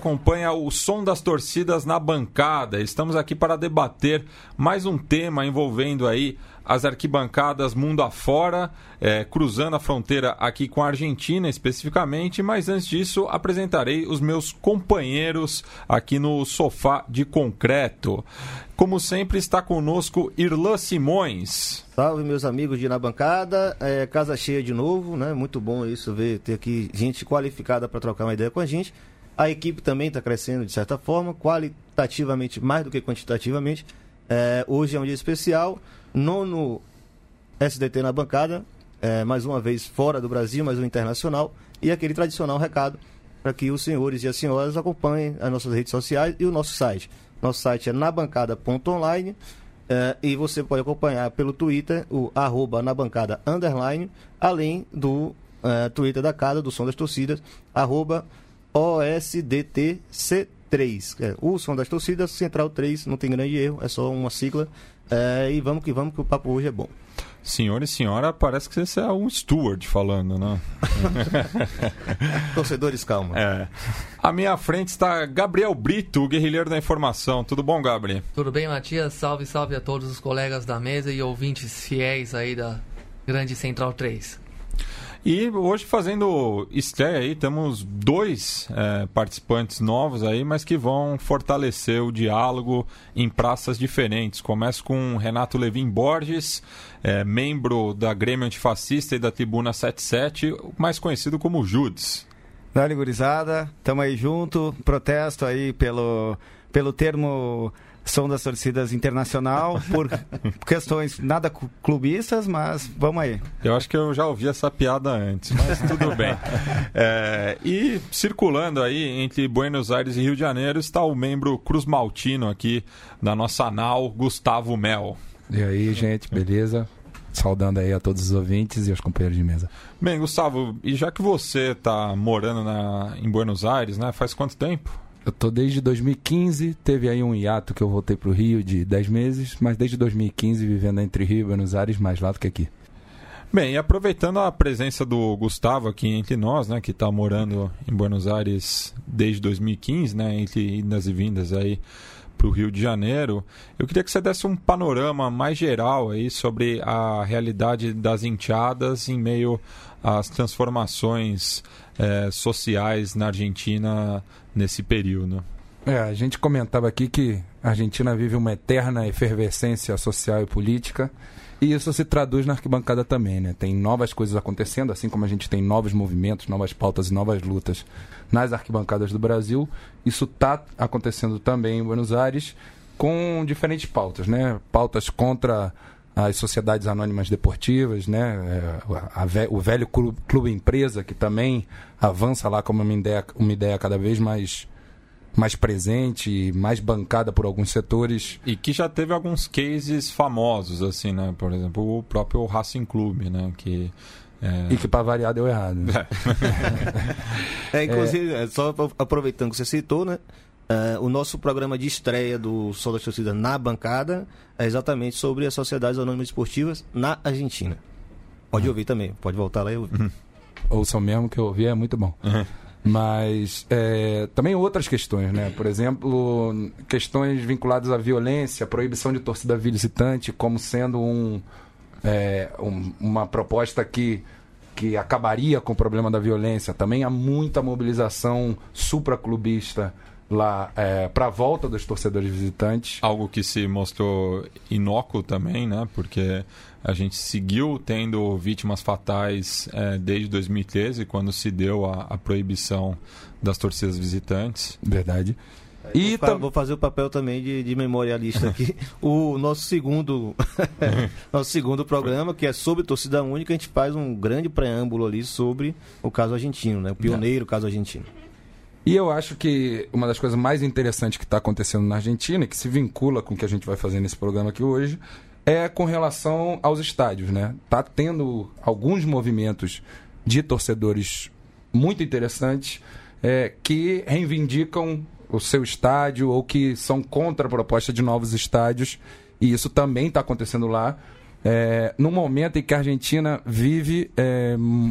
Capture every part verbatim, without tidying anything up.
acompanha o Som das Torcidas na bancada. Estamos aqui para debater mais um tema envolvendo aí as arquibancadas mundo afora, é, cruzando a fronteira aqui com a Argentina especificamente, mas antes disso apresentarei os meus companheiros aqui no Sofá de Concreto. Como sempre está conosco Irlan Simões. Salve, meus amigos de Na Bancada, é, casa cheia de novo, né? Muito bom isso, ver, ter aqui gente qualificada para trocar uma ideia com a gente. A equipe também está crescendo de certa forma, qualitativamente mais do que quantitativamente. É, hoje é um dia especial, nono S D T na bancada, é, mais uma vez fora do Brasil, mais um internacional, e aquele tradicional recado para que os senhores e as senhoras acompanhem as nossas redes sociais e o nosso site. Nosso site é nabancada ponto online, é, e você pode acompanhar pelo Twitter, o arroba nabancada underline, além do é, Twitter da casa, do Som das Torcidas, arroba O S D T C três. É, o Som das Torcidas, Central três, não tem grande erro, é só uma sigla. É, e vamos que vamos, que o papo hoje é bom. Senhor e senhora, parece que você é um steward falando, né? Torcedores, calma. É. À minha frente está Gabriel Brito, o guerrilheiro da informação. Tudo bom, Gabriel? Tudo bem, Matias? Salve, salve a todos os colegas da mesa e ouvintes fiéis aí da Grande Central três. E hoje fazendo estreia aí, temos dois é, participantes novos aí, mas que vão fortalecer o diálogo em praças diferentes. Começo com Renato Levin Borges, é, membro da Grêmio Antifascista e da Tribuna setenta e sete, mais conhecido como Judes. Dale, gurizada, tamo aí junto, protesto aí pelo, pelo termo Som das Torcidas Internacional, por questões nada clubistas, mas vamos aí. Eu acho que eu já ouvi essa piada antes, mas tudo bem. É, e circulando aí entre Buenos Aires e Rio de Janeiro está o membro Cruz Maltino aqui da nossa nau, Gustavo Mel. E aí, gente, beleza? Saudando aí a todos os ouvintes e os companheiros de mesa. Bem, Gustavo, e já que você está morando na, em Buenos Aires, né, faz quanto tempo? Eu tô desde dois mil e quinze, teve aí um hiato que eu voltei pro Rio de dez meses, mas desde dois mil e quinze vivendo entre Rio e Buenos Aires, mais lá do que aqui. Bem, e aproveitando a presença do Gustavo aqui entre nós, né, que está morando em Buenos Aires desde dois mil e quinze, né, entre idas e vindas aí para o Rio de Janeiro, eu queria que você desse um panorama mais geral aí sobre a realidade das enteadas em meio às transformações é, sociais na Argentina nesse período. É, a gente comentava aqui que a Argentina vive uma eterna efervescência social e política, e isso se traduz na arquibancada também, né? Tem novas coisas acontecendo, assim como a gente tem novos movimentos, novas pautas e novas lutas nas arquibancadas do Brasil. Isso está acontecendo também em Buenos Aires, com diferentes pautas, né? Pautas contra as sociedades anônimas deportivas, né? A, a, o velho clube, clube empresa, que também avança lá como uma ideia, uma ideia cada vez mais, mais presente, mais bancada por alguns setores. E que já teve alguns cases famosos, assim, né? Por exemplo, o próprio Racing Clube, né? Que, é... E que, para variar, deu errado. Né? É, inclusive, é... só aproveitando que você citou, né? Uh, o nosso programa de estreia do Som das Torcidas na bancada é exatamente sobre as sociedades anônimas esportivas na Argentina. Pode uhum. ouvir também, pode voltar lá e ouvir. Uhum. Ouçam mesmo, que eu ouvi é muito bom. Uhum. Mas é, também outras questões, né? Por exemplo, questões vinculadas à violência, proibição de torcida visitante como sendo um, é, um, uma proposta que, que acabaria com o problema da violência. Também há muita mobilização supraclubista lá é, para a volta dos torcedores visitantes. Algo que se mostrou inócuo também, né? Porque a gente seguiu tendo vítimas fatais é, desde dois mil e treze, quando se deu a, a proibição das torcidas visitantes. Verdade. E vou, tam... vou fazer o papel também de, de memorialista aqui. O nosso segundo nosso segundo programa, que é sobre torcida única, a gente faz um grande preâmbulo ali sobre o caso argentino, né? O pioneiro caso argentino. E eu acho que uma das coisas mais interessantes que está acontecendo na Argentina, que se vincula com o que a gente vai fazer nesse programa aqui hoje, é com relação aos estádios, né? Tá tendo alguns movimentos de torcedores muito interessantes é, que reivindicam o seu estádio ou que são contra a proposta de novos estádios, e isso também está acontecendo lá, é, no momento em que a Argentina vive é,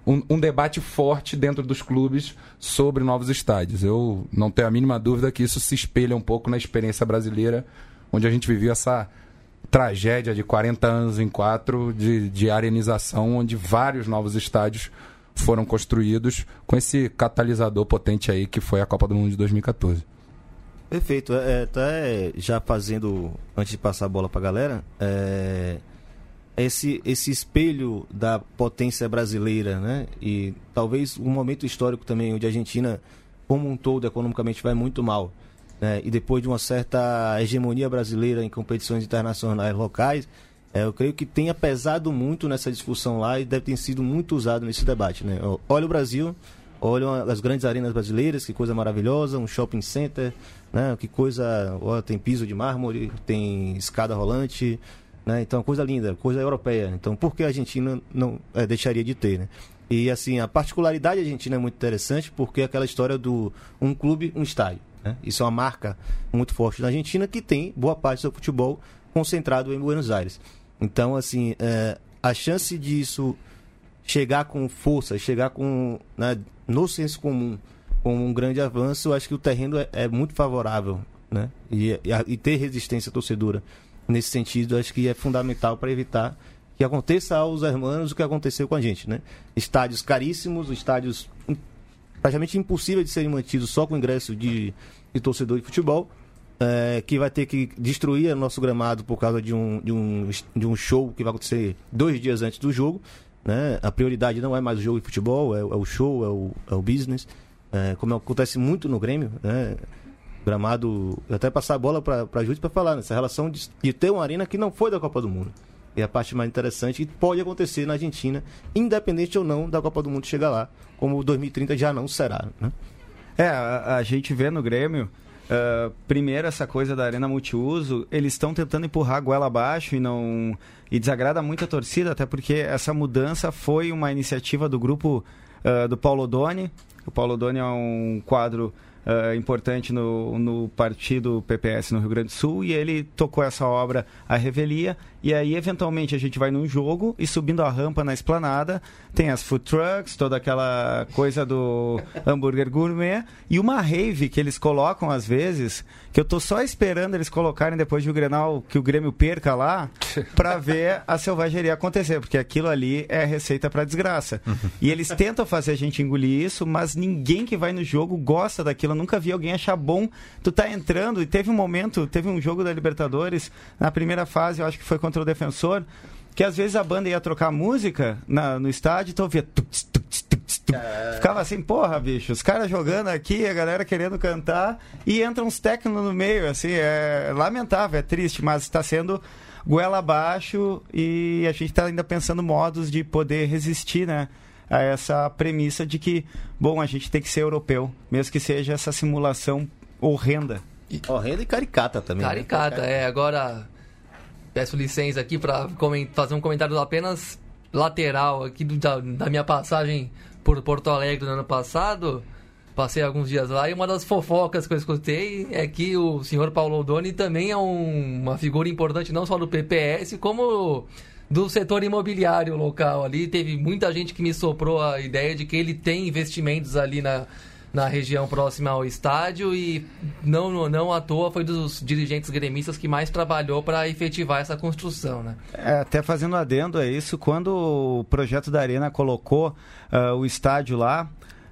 um, um debate forte dentro dos clubes sobre novos estádios. Eu não tenho a mínima dúvida que isso se espelha um pouco na experiência brasileira, onde a gente viveu essa tragédia de quarenta anos em quatro de, de arenização, onde vários novos estádios foram construídos com esse catalisador potente aí que foi a Copa do Mundo de dois mil e catorze. Perfeito. É, até já fazendo, antes de passar a bola para a galera, é, esse, esse espelho da potência brasileira, né? E talvez um momento histórico também onde a Argentina, como um todo, economicamente vai muito mal, né? E depois de uma certa hegemonia brasileira em competições internacionais locais, é, eu creio que tenha pesado muito nessa discussão lá e deve ter sido muito usado nesse debate, né? Olha o Brasil, olha as grandes arenas brasileiras, que coisa maravilhosa, um shopping center, né? Que coisa, ó, tem piso de mármore, tem escada rolante, né? Então, coisa linda, coisa europeia. Então, por que a Argentina não é, deixaria de ter, né? E, assim, a particularidade argentina é muito interessante porque é aquela história do um clube, um estádio, né? Isso é uma marca muito forte na Argentina que tem boa parte do seu futebol concentrado em Buenos Aires. Então, assim, é, a chance disso chegar com força, chegar com, né, no senso comum, com um grande avanço, eu acho que o terreno é, é muito favorável, né? E, e, e ter resistência torcedora nesse sentido, acho que é fundamental para evitar que aconteça aos hermanos o que aconteceu com a gente, né? Estádios caríssimos, estádios praticamente impossíveis de serem mantidos só com ingresso de, de torcedor de futebol, é, que vai ter que destruir o nosso gramado por causa de um, de, um, de um show que vai acontecer dois dias antes do jogo, né? A prioridade não é mais o jogo de futebol, é, é o show, é o, é o business, é, como acontece muito no Grêmio, né? Gramado, até passar a bola para a Júlia para falar nessa relação de, de ter uma arena que não foi da Copa do Mundo. E a parte mais interessante que pode acontecer na Argentina, independente ou não da Copa do Mundo chegar lá, como dois mil e trinta já não será, né? É, a, a gente vê no Grêmio, uh, primeiro essa coisa da arena multiuso, eles estão tentando empurrar a goela abaixo e não e desagrada muito a torcida, até porque essa mudança foi uma iniciativa do grupo uh, do Paulo Odoni. O Paulo Odoni é um quadro Uh, importante no, no partido P P S no Rio Grande do Sul, e ele tocou essa obra à revelia, e aí eventualmente a gente vai num jogo e subindo a rampa na esplanada tem as food trucks, toda aquela coisa do hambúrguer gourmet, e uma rave que eles colocam às vezes, que eu tô só esperando eles colocarem depois do Grenal, que o Grêmio perca lá, pra ver a selvageria acontecer, porque aquilo ali é receita pra desgraça. E eles tentam fazer a gente engolir isso, mas ninguém que vai no jogo gosta daquilo. Eu nunca vi alguém achar bom. Tu tá entrando, e teve um momento, teve um jogo da Libertadores, na primeira fase, eu acho que foi contra o Defensor, que às vezes a banda ia trocar música na, no estádio, então via tuts, tuts, tuts, tuts. É... ficava assim, porra, bicho, os caras jogando aqui, a galera querendo cantar, e entra uns técnicos no meio, assim, é lamentável, é triste, mas está sendo goela abaixo, e a gente está ainda pensando modos de poder resistir, né, a essa premissa de que, bom, a gente tem que ser europeu, mesmo que seja essa simulação horrenda. Horrenda e caricata também. Caricata, né? É, agora peço licença aqui para fazer um comentário apenas lateral aqui do, da, da minha passagem por Porto Alegre no ano passado. Passei alguns dias lá e uma das fofocas que eu escutei é que o senhor Paulo Odoni também é um, uma figura importante não só do P P S, como do setor imobiliário local ali. Teve muita gente que me soprou a ideia de que ele tem investimentos ali na, na região próxima ao estádio e não, não à toa foi dos dirigentes gremistas que mais trabalhou para efetivar essa construção, né? É, até fazendo adendo a isso, quando o projeto da Arena colocou uh, o estádio lá,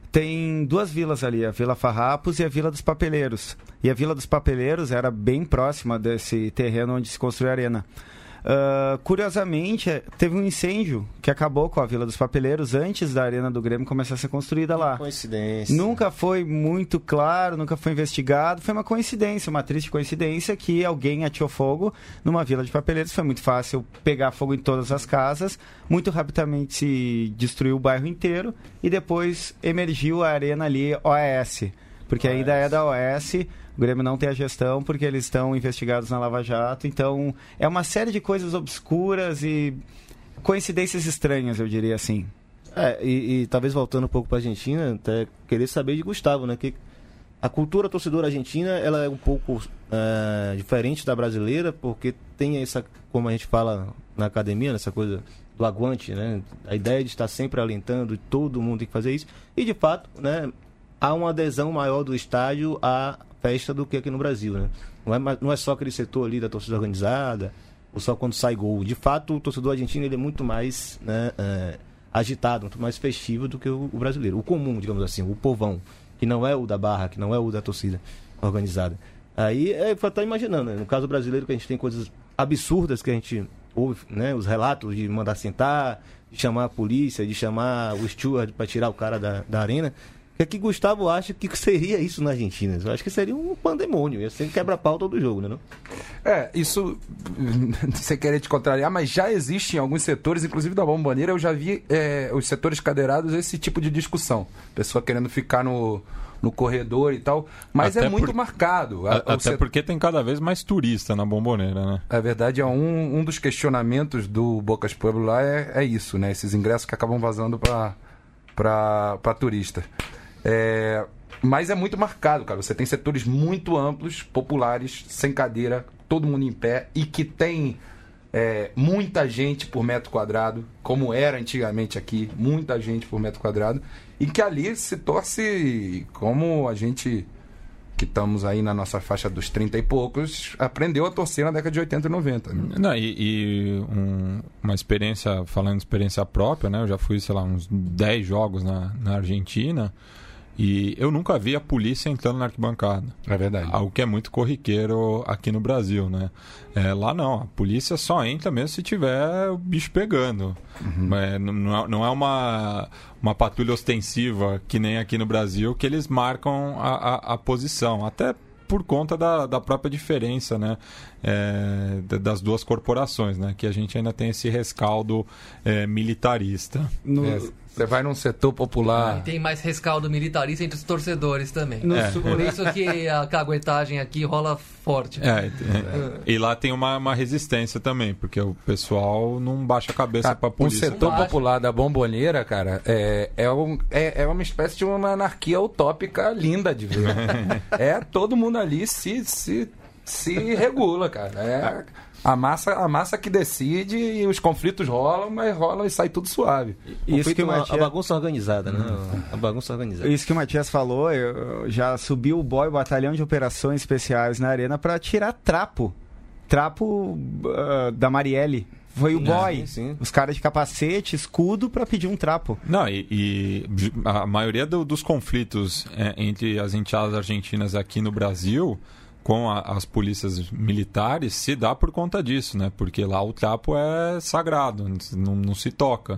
tem duas vilas ali, a Vila Farrapos e a Vila dos Papeleiros. E a Vila dos Papeleiros era bem próxima desse terreno onde se construiu a Arena. Uh, curiosamente, teve um incêndio que acabou com a Vila dos Papeleiros antes da Arena do Grêmio começar a ser construída lá. Coincidência. Nunca foi muito claro, nunca foi investigado. Foi uma coincidência, uma triste coincidência que alguém ateou fogo numa Vila de Papeleiros. Foi muito fácil pegar fogo em todas as casas. Muito rapidamente se destruiu o bairro inteiro e depois emergiu a Arena ali O S. Porque O S. Ainda é da O S. O Grêmio não tem a gestão porque eles estão investigados na Lava Jato. Então, é uma série de coisas obscuras e coincidências estranhas, eu diria assim. É, e, e talvez voltando um pouco para a Argentina, até querer saber de Gustavo, né? Que a cultura torcedora argentina, ela é um pouco é, diferente da brasileira, porque tem essa, como a gente fala na academia, essa coisa do aguante, né? A ideia de estar sempre alentando, todo mundo tem que fazer isso. E, de fato, né, há uma adesão maior do estádio à festa do que aqui no Brasil, né? Não é, não é só aquele setor ali da torcida organizada, ou só quando sai gol. De fato, o torcedor argentino ele é muito mais, né, é, agitado, muito mais festivo do que o, o brasileiro. O comum, digamos assim, o povão, que não é o da barra, que não é o da torcida organizada. Aí, é para estar imaginando, né? No caso brasileiro, que a gente tem coisas absurdas que a gente ouve, né? Os relatos de mandar sentar, de chamar a polícia, de chamar o steward para tirar o cara da, da arena. O que é que Gustavo acha que seria isso na Argentina? Eu acho que seria um pandemônio, ia ser quebra-pau todo jogo, né? Não? É, isso, sem querer te contrariar, mas já existe em alguns setores, inclusive da Bombonera, eu já vi é, os setores cadeirados esse tipo de discussão. Pessoa querendo ficar no, no corredor e tal, mas até é muito por, marcado. A, até set... porque tem cada vez mais turista na Bombonera, né? É verdade, é um, um dos questionamentos do Bocas Pueblo lá é, é isso, né? Esses ingressos que acabam vazando para para turista. É, mas é muito marcado, cara. Você tem setores muito amplos, populares, sem cadeira, todo mundo em pé e que tem é, muita gente por metro quadrado, como era antigamente aqui, muita gente por metro quadrado, e que ali se torce como a gente que estamos aí na nossa faixa dos trinta e poucos aprendeu a torcer na década de oitenta e noventa. Né? Não, e e um, uma experiência, falando de experiência própria, né? Eu já fui, sei lá, uns dez jogos na, na Argentina. E eu nunca vi a polícia entrando na arquibancada. É verdade. Algo que é muito corriqueiro aqui no Brasil, né? É, lá não, a polícia só entra mesmo se tiver o bicho pegando. Uhum. É, não, não é uma, uma patrulha ostensiva que nem aqui no Brasil, que eles marcam a, a, a posição. Até por conta da, da própria diferença, né? É, das duas corporações, né? Que a gente ainda tem esse rescaldo é, militarista. No... É. Você vai num setor popular. E tem mais rescaldo militarista entre os torcedores também. É. Por isso que a caguetagem aqui rola forte. É, é. E lá tem uma, uma resistência também, porque o pessoal não baixa a cabeça para a polícia. O setor popular da Bombonera, cara, é, é, um, é, é uma espécie de uma anarquia utópica linda de ver. É, todo mundo ali se, se, se regula, cara. É... A massa, a massa que decide e os conflitos rolam, mas rolam e sai tudo suave. Isso que o Matias... A bagunça organizada, né? Hum. A bagunça organizada. Isso que o Matias falou, eu já subiu o boy, o batalhão de operações especiais na arena para tirar trapo. Trapo uh, da Marielle. Foi o boy. Sim, sim. Os caras de capacete, escudo para pedir um trapo. Não, e, e a maioria do, dos conflitos é, entre as enteadas argentinas aqui no Brasil... com a, as polícias militares se dá por conta disso, né? Porque lá o trapo é sagrado, não, não se toca.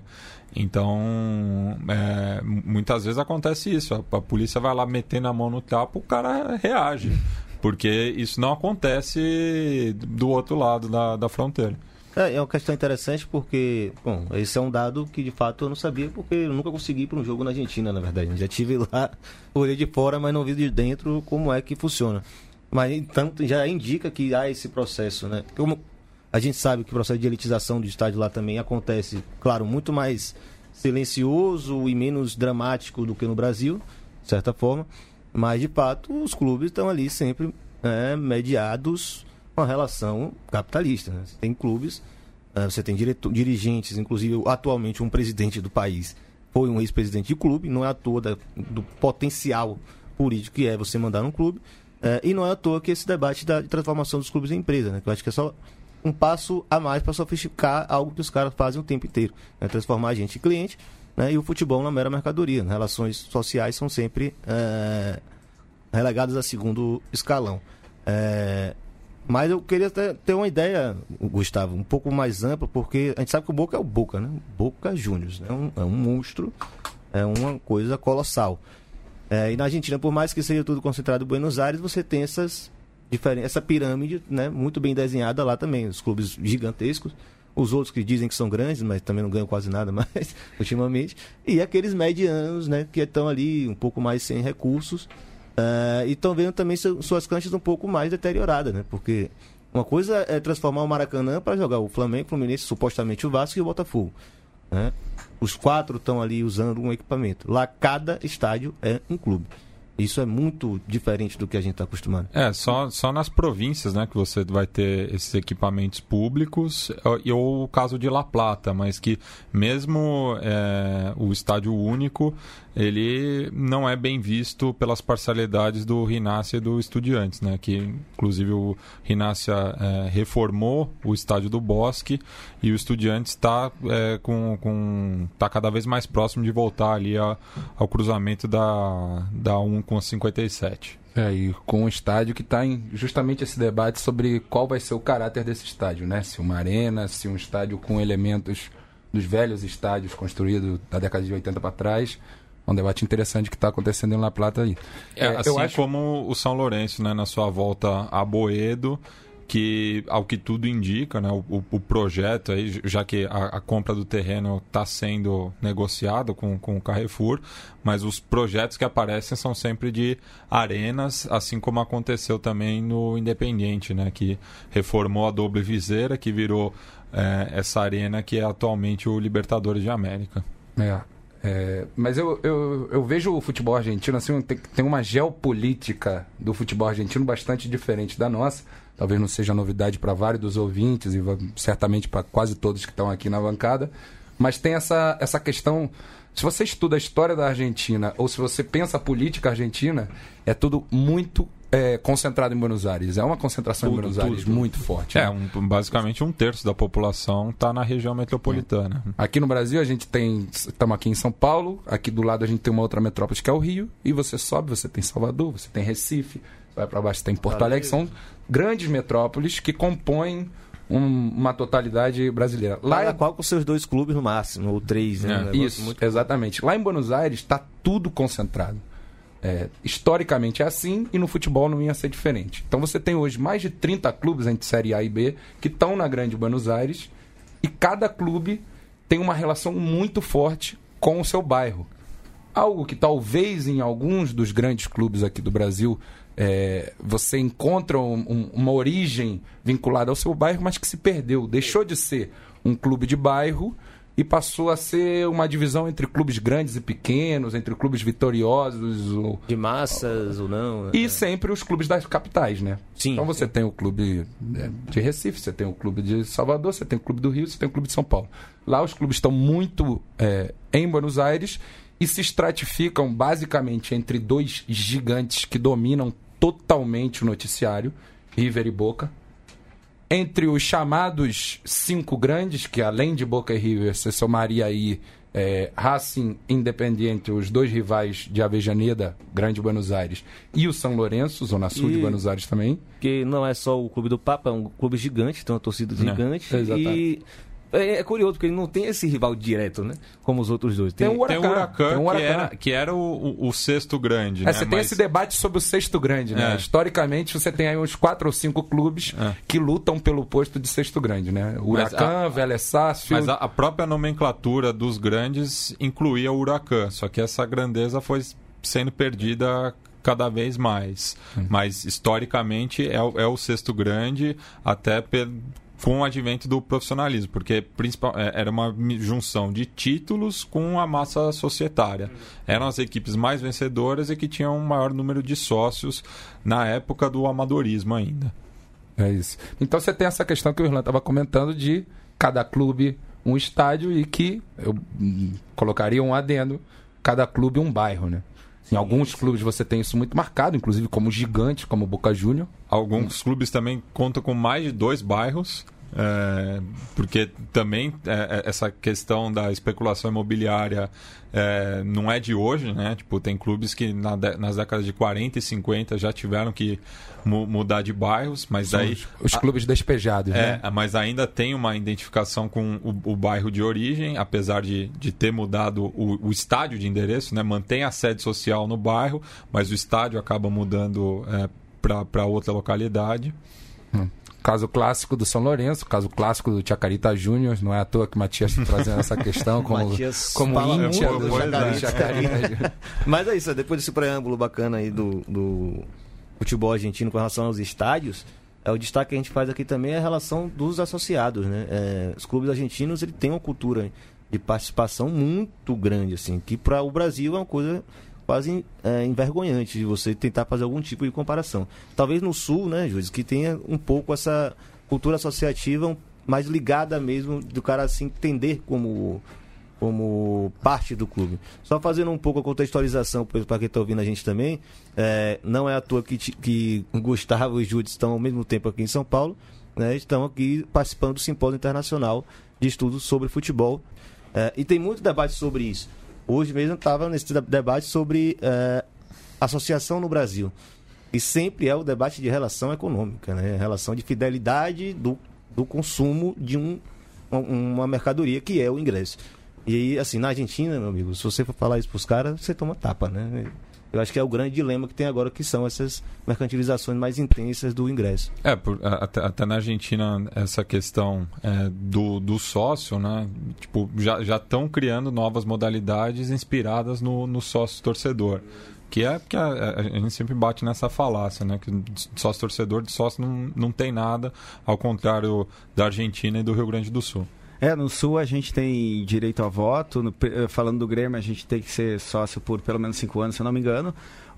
Então, é, muitas vezes acontece isso. A, a polícia vai lá metendo a mão no trapo, o cara reage. Porque isso não acontece do outro lado da, da fronteira. É, é uma questão interessante porque, bom, esse é um dado que de fato eu não sabia, porque eu nunca consegui ir para um jogo na Argentina, na verdade. Já estive lá, olhei de fora, mas não vi de dentro como é que funciona. Mas, então, já indica que há esse processo, né? Como a gente sabe que o processo de elitização do estádio lá também acontece, claro, muito mais silencioso e menos dramático do que no Brasil, de certa forma. Mas, de fato, os clubes estão ali sempre é, mediados com a relação capitalista. Né? Você tem clubes, é, você tem diretor, dirigentes, inclusive atualmente um presidente do país foi um ex-presidente de clube, não é à toa da, do potencial político que é você mandar num clube. É, e não é à toa que esse debate da de transformação dos clubes em empresa, né? Que eu acho que é só um passo a mais para sofisticar algo que os caras fazem o tempo inteiro, né? Transformar a gente em cliente, né? E o futebol na mera mercadoria. Né? Relações sociais são sempre é, relegadas a segundo escalão. É, mas eu queria ter, ter uma ideia, Gustavo, um pouco mais ampla, porque a gente sabe que o Boca é o Boca, né? Boca Juniors, né? um, é um monstro, é uma coisa colossal. É, e na Argentina, por mais que seja tudo concentrado em Buenos Aires, você tem essas diferen- essa pirâmide, né, muito bem desenhada lá também. Os clubes gigantescos, os outros que dizem que são grandes, mas também não ganham quase nada mais ultimamente. E aqueles medianos, né, que estão ali um pouco mais sem recursos uh, e estão vendo também su- suas canchas um pouco mais deterioradas, né? Porque uma coisa é transformar o Maracanã para jogar o Flamengo, o Fluminense, supostamente o Vasco e o Botafogo. Né? Os quatro estão ali usando um equipamento. Lá cada estádio é um clube. Isso é muito diferente do que a gente está acostumado. É, só, só nas províncias, né, que você vai ter esses equipamentos públicos, e ou o caso de La Plata, mas que mesmo é, o estádio único, ele não é bem visto pelas parcialidades do Rinácia e do Estudiantes, né, que inclusive o Rinácia é, reformou o estádio do Bosque e o Estudiantes está é, com, com, tá cada vez mais próximo de voltar ali a, ao cruzamento da, da um com a cinquenta e sete. É, e com um estádio que está em justamente esse debate sobre qual vai ser o caráter desse estádio, né? Se uma arena, se um estádio com elementos dos velhos estádios construídos da década de oitenta para trás. É um debate interessante que está acontecendo em La Plata aí. É, É, assim eu acho... como o São Lourenço, né, na sua volta a Boedo, que, ao que tudo indica, né, o, o projeto, aí, já que a, a compra do terreno está sendo negociada com, com o Carrefour, mas os projetos que aparecem são sempre de arenas, assim como aconteceu também no Independiente, né, que reformou a Doble Viseira, que virou é, essa arena que é atualmente o Libertadores de América. É. É, mas eu, eu, eu vejo o futebol argentino assim, tem, tem uma geopolítica do futebol argentino bastante diferente da nossa. Talvez não seja novidade para vários dos ouvintes e certamente para quase todos que estão aqui na bancada. Mas tem essa, essa questão... Se você estuda a história da Argentina ou se você pensa a política argentina, é tudo muito é, concentrado em Buenos Aires. É uma concentração Tudo, em Buenos tudo, Aires tudo. muito forte. É, né? um, basicamente um terço da população está na região metropolitana. Aqui no Brasil a gente tem, estamos aqui em São Paulo, aqui do lado a gente tem uma outra metrópole que é o Rio, e você sobe, você tem Salvador, você tem Recife, vai para baixo, você tem Porto Alegre, são grandes metrópoles que compõem um, uma totalidade brasileira. Lá Cada é... qual com seus dois clubes no máximo, ou três, né? É, Um negócio Isso, muito... exatamente. Lá em Buenos Aires está tudo concentrado. É, historicamente é assim e no futebol não ia ser diferente. Então você tem hoje mais de trinta clubes entre Série A e B que estão na Grande Buenos Aires e cada clube tem uma relação muito forte com o seu bairro. Algo que talvez em alguns dos grandes clubes aqui do Brasil é, você encontra um, um, uma origem vinculada ao seu bairro, mas que se perdeu. Deixou de ser um clube de bairro e passou a ser uma divisão entre clubes grandes e pequenos, entre clubes vitoriosos ou... De massas ou não. e é. sempre os clubes das capitais, né? Sim. Então você tem o clube de Recife, você tem o clube de Salvador, você tem o clube do Rio, você tem o clube de São Paulo. Lá os clubes estão muito é, em Buenos Aires e se estratificam basicamente entre dois gigantes que dominam totalmente o noticiário, River e Boca. Entre os chamados cinco grandes, que além de Boca e River, você somaria aí é, Racing, Independiente, os dois rivais de Avellaneda, Grande Buenos Aires, e o São Lourenço, Zona Sul E- de Buenos Aires também. Porque não é só o clube do Papa, é um clube gigante, tem uma torcida gigante. É, exatamente. E é, é curioso, porque ele não tem esse rival direto, né? Como os outros dois. Tem, Tem o Tem o Huracan, Huracan, tem o que Huracan. era, que era o, o- o sexto grande. É, né? você tem Mas- esse debate sobre o sexto grande, né? É. Historicamente, você tem aí uns quatro ou cinco clubes É. que lutam pelo posto de sexto grande, né? Mas Huracan, a- Vélez Sarsfield... Mas a, a própria nomenclatura dos grandes incluía o Huracan, só que essa grandeza foi sendo perdida cada vez mais. Hum. Mas, historicamente, é, o- é o sexto grande, até pe- com o advento do profissionalismo, porque principal, é, era uma mi- junção de títulos com a massa societária. Eram as equipes mais vencedoras e que tinham um maior número de sócios na época do amadorismo ainda. É isso. Então você tem essa questão que o Irlan estava comentando de cada clube um estádio e que eu hum, colocaria um adendo, cada clube um bairro, né? Em alguns clubes você tem isso muito marcado, inclusive como gigante, como o Boca Juniors. Alguns clubes também contam com mais de dois bairros, é, porque também é, é, essa questão da especulação imobiliária é, não é de hoje, né? Tipo, tem clubes que na de- nas décadas de quarenta e cinquenta já tiveram que mu- mudar de bairros, mas São daí... os, os clubes despejados, É, né? mas ainda tem uma identificação com o, o bairro de origem, apesar de, de ter mudado o, o estádio de endereço, né? Mantém a sede social no bairro, mas o estádio acaba mudando é, para outra localidade. Caso clássico do São Lourenço, caso clássico do Chacarita Júnior, não é à toa que o Matias está trazendo essa questão como, Matias como fala íntia muito do do Chacarita. Chacarita. Chacarita. Mas é isso, depois desse preâmbulo bacana aí do, do futebol argentino com relação aos estádios, é, o destaque que a gente faz aqui também é a relação dos associados, né? É, os clubes argentinos ele têm uma cultura de participação muito grande, assim, que para o Brasil é uma coisa quase é, envergonhante de você tentar fazer algum tipo de comparação. Talvez no Sul, né, Júlio, que tenha um pouco essa cultura associativa mais ligada mesmo do cara se entender como, como parte do clube. Só fazendo um pouco a contextualização para quem está ouvindo a gente também, é, não é à toa que, que Gustavo e Júlio estão ao mesmo tempo aqui em São Paulo, né, estão aqui participando do Simpósio Internacional de Estudos sobre Futebol. É, e tem muito debate sobre isso. Hoje mesmo estava nesse debate sobre é, associação no Brasil. E sempre é o debate de relação econômica, né? Relação de fidelidade do, do consumo de um, uma mercadoria que é o ingresso. E aí, assim, na Argentina, meu amigo, se você for falar isso para os caras, você toma tapa, né? Eu acho que é o grande dilema que tem agora, que são essas mercantilizações mais intensas do ingresso. É, por, até, até na Argentina, essa questão é, do, do sócio, né? Tipo, já estão criando novas modalidades inspiradas no, no sócio-torcedor. Que é porque a, a gente sempre bate nessa falácia, né? Que sócio-torcedor de sócio não, não tem nada, ao contrário da Argentina e do Rio Grande do Sul. É, no Sul a gente tem direito a voto, no, falando do Grêmio a gente tem que ser sócio por pelo menos cinco anos, se eu não me engano.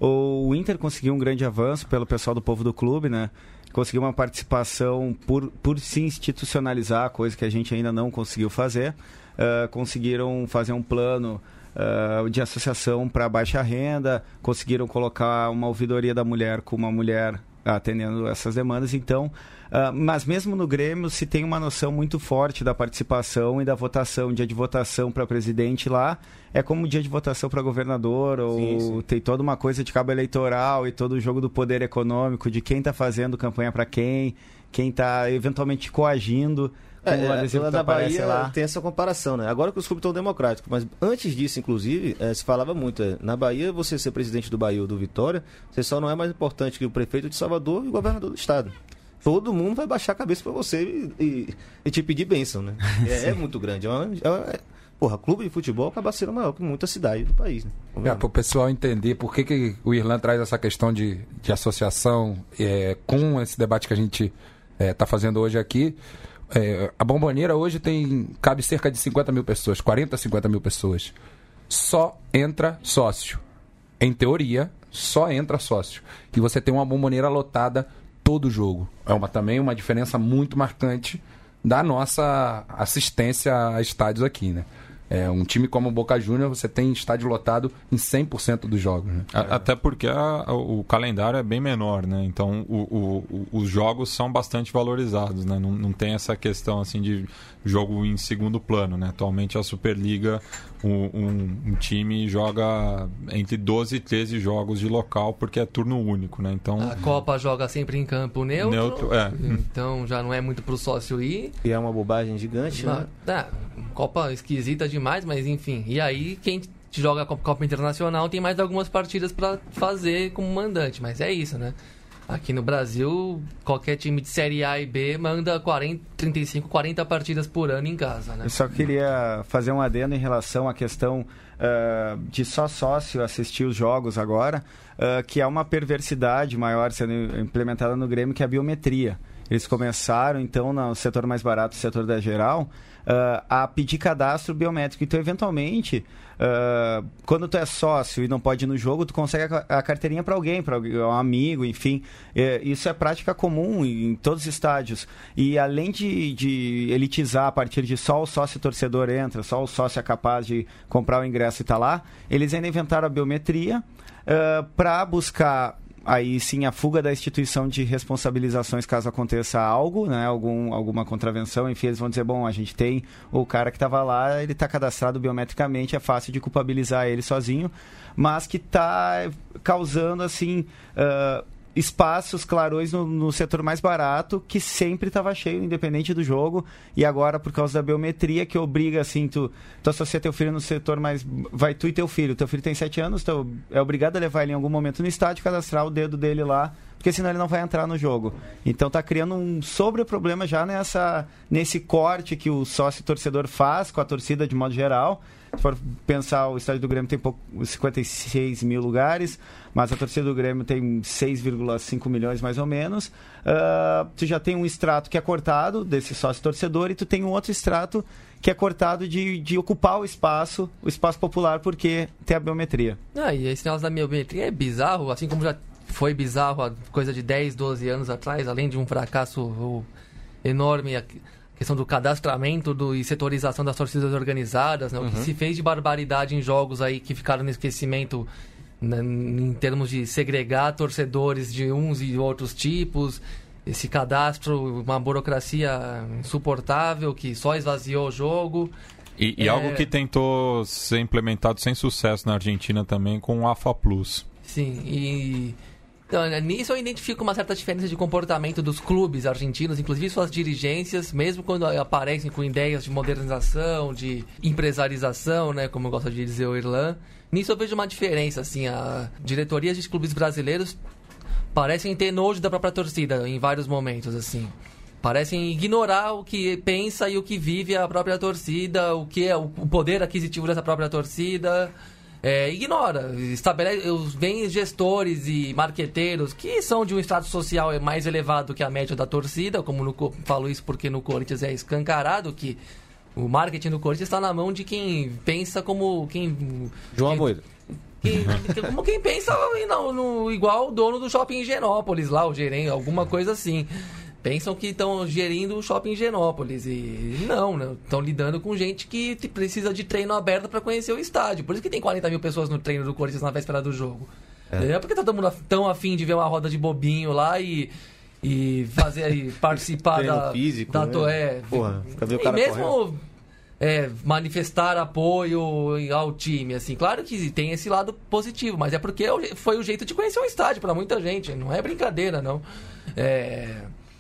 O Inter conseguiu um grande avanço pelo pessoal do povo do clube, né? Conseguiu uma participação por, por se institucionalizar, coisa que a gente ainda não conseguiu fazer. Uh, conseguiram fazer um plano uh, de associação para baixa renda, conseguiram colocar uma ouvidoria da mulher com uma mulher atendendo essas demandas, então... Uh, mas mesmo no Grêmio se tem uma noção muito forte da participação e da votação. Dia de votação para presidente lá é como dia de votação para governador, ou sim, sim. Tem toda uma coisa de cabo eleitoral e todo o jogo do poder econômico, de quem está fazendo campanha para quem, quem está eventualmente coagindo. É, o adesivo da Bahia lá. Tem essa comparação, né? Agora que os clubes estão democráticos, mas antes disso, inclusive, é, se falava muito, é, na Bahia, você ser presidente do Bahia ou do Vitória, você só não é mais importante que o prefeito de Salvador e o governador do estado. Todo mundo vai baixar a cabeça para você e, e, e te pedir bênção, né? É, é muito grande. É uma, é, porra, clube de futebol acaba sendo maior que muita cidade do país, né? É, para o pessoal entender por que, que o Irlan traz essa questão de, de associação é, com esse debate que a gente está é, fazendo hoje aqui. É, a Bombonera hoje tem cabe cerca de cinquenta mil pessoas, quarenta, cinquenta mil pessoas. Só entra sócio. Em teoria, só entra sócio. E você tem uma Bombonera lotada todo jogo. É uma, também uma diferença muito marcante da nossa assistência a estádios aqui, né? É, um time como o Boca Juniors, você tem estádio lotado em cem por cento dos jogos, né? Até porque a, o calendário é bem menor, né? Então o, o, os jogos são bastante valorizados, né? Não, não tem essa questão assim de jogo em segundo plano, né? Atualmente a Superliga, um, um, um time joga entre doze e treze jogos de local, porque é turno único, né? Então, a Copa joga sempre em campo neutro, neutro é. Então já não é muito pro sócio ir. E é uma bobagem gigante, mas, né? É, Copa esquisita demais, mas enfim. E aí quem joga a Copa Internacional tem mais algumas partidas para fazer como mandante, mas é isso, né? Aqui no Brasil, qualquer time de Série A e B manda quarenta, trinta e cinco, quarenta partidas por ano em casa, né? Eu só queria fazer um adendo em relação à questão uh, de só sócio assistir os jogos agora, uh, que é uma perversidade maior sendo implementada no Grêmio, que é a biometria. Eles começaram, então, no setor mais barato, o setor da geral, uh, a pedir cadastro biométrico. Então, eventualmente, uh, quando tu é sócio e não pode ir no jogo, tu consegue a, a carteirinha para alguém, para um amigo, enfim. É, isso é prática comum em todos os estádios. E além de, de elitizar a partir de só o sócio torcedor entra, só o sócio é capaz de comprar o ingresso e tá lá, eles ainda inventaram a biometria uh, para buscar... Aí sim a fuga da instituição de responsabilizações caso aconteça algo, né? Algum, alguma contravenção, enfim, eles vão dizer, bom, a gente tem o cara que estava lá, ele está cadastrado biometricamente, é fácil de culpabilizar ele sozinho, mas que está causando, assim, uh, espaços, clarões no, no setor mais barato, que sempre estava cheio, independente do jogo, e agora, por causa da biometria, que obriga, assim, tu, tu associa teu filho no setor mais... Vai tu e teu filho, teu filho tem sete anos, tu é obrigado a levar ele em algum momento no estádio, cadastrar o dedo dele lá, porque senão ele não vai entrar no jogo. Então tá criando um sobre-problema já nessa, nesse corte que o sócio-torcedor faz com a torcida de modo geral. Se for pensar, o estádio do Grêmio tem pouco, cinquenta e seis mil lugares, mas a torcida do Grêmio tem seis vírgula cinco milhões mais ou menos. Uh, tu já tem um extrato que é cortado desse sócio-torcedor e tu tem um outro extrato que é cortado de, de ocupar o espaço, o espaço popular, porque tem a biometria. Ah, e esse negócio da biometria é bizarro, assim como já foi bizarro há coisa de dez, doze anos atrás, além de um fracasso o, enorme, a questão do cadastramento do, e setorização das torcidas organizadas, né? O que Uhum. se fez de barbaridade em jogos aí que ficaram no esquecimento, né, em termos de segregar torcedores de uns e outros tipos, esse cadastro, uma burocracia insuportável que só esvaziou o jogo. E, e É. algo que tentou ser implementado sem sucesso na Argentina também com o AFA Plus. Sim, e então, nisso eu identifico uma certa diferença de comportamento dos clubes argentinos, inclusive suas dirigências, mesmo quando aparecem com ideias de modernização, de empresarização, né, como gosta de dizer o Irlan. Nisso eu vejo uma diferença, assim, a diretorias de clubes brasileiros parecem ter nojo da própria torcida em vários momentos, assim. Parecem ignorar o que pensa e o que vive a própria torcida, o que é o poder aquisitivo dessa própria torcida. É, ignora, estabelece, vem gestores e marqueteiros que são de um status social mais elevado que a média da torcida, como no, falo isso porque no Corinthians é escancarado que o marketing do Corinthians está na mão de quem pensa como quem João quem, Amoedo. quem, como quem pensa no, no, igual o dono do shopping Higienópolis lá, o gerente, alguma coisa assim. Pensam que estão gerindo o shopping Higienópolis e não, né? Estão lidando com gente que precisa de treino aberto para conhecer o estádio. Por isso que tem quarenta mil pessoas no treino do Corinthians na véspera do jogo. É, é porque tá todo mundo tão afim de ver uma roda de bobinho lá e, e fazer e participar Treino da, físico, da né? to- é, Porra, fica ver o e cara mesmo correndo. é, manifestar apoio ao time, assim, claro que tem esse lado positivo, mas é porque foi o jeito de conhecer o estádio para muita gente, não é brincadeira, não. É...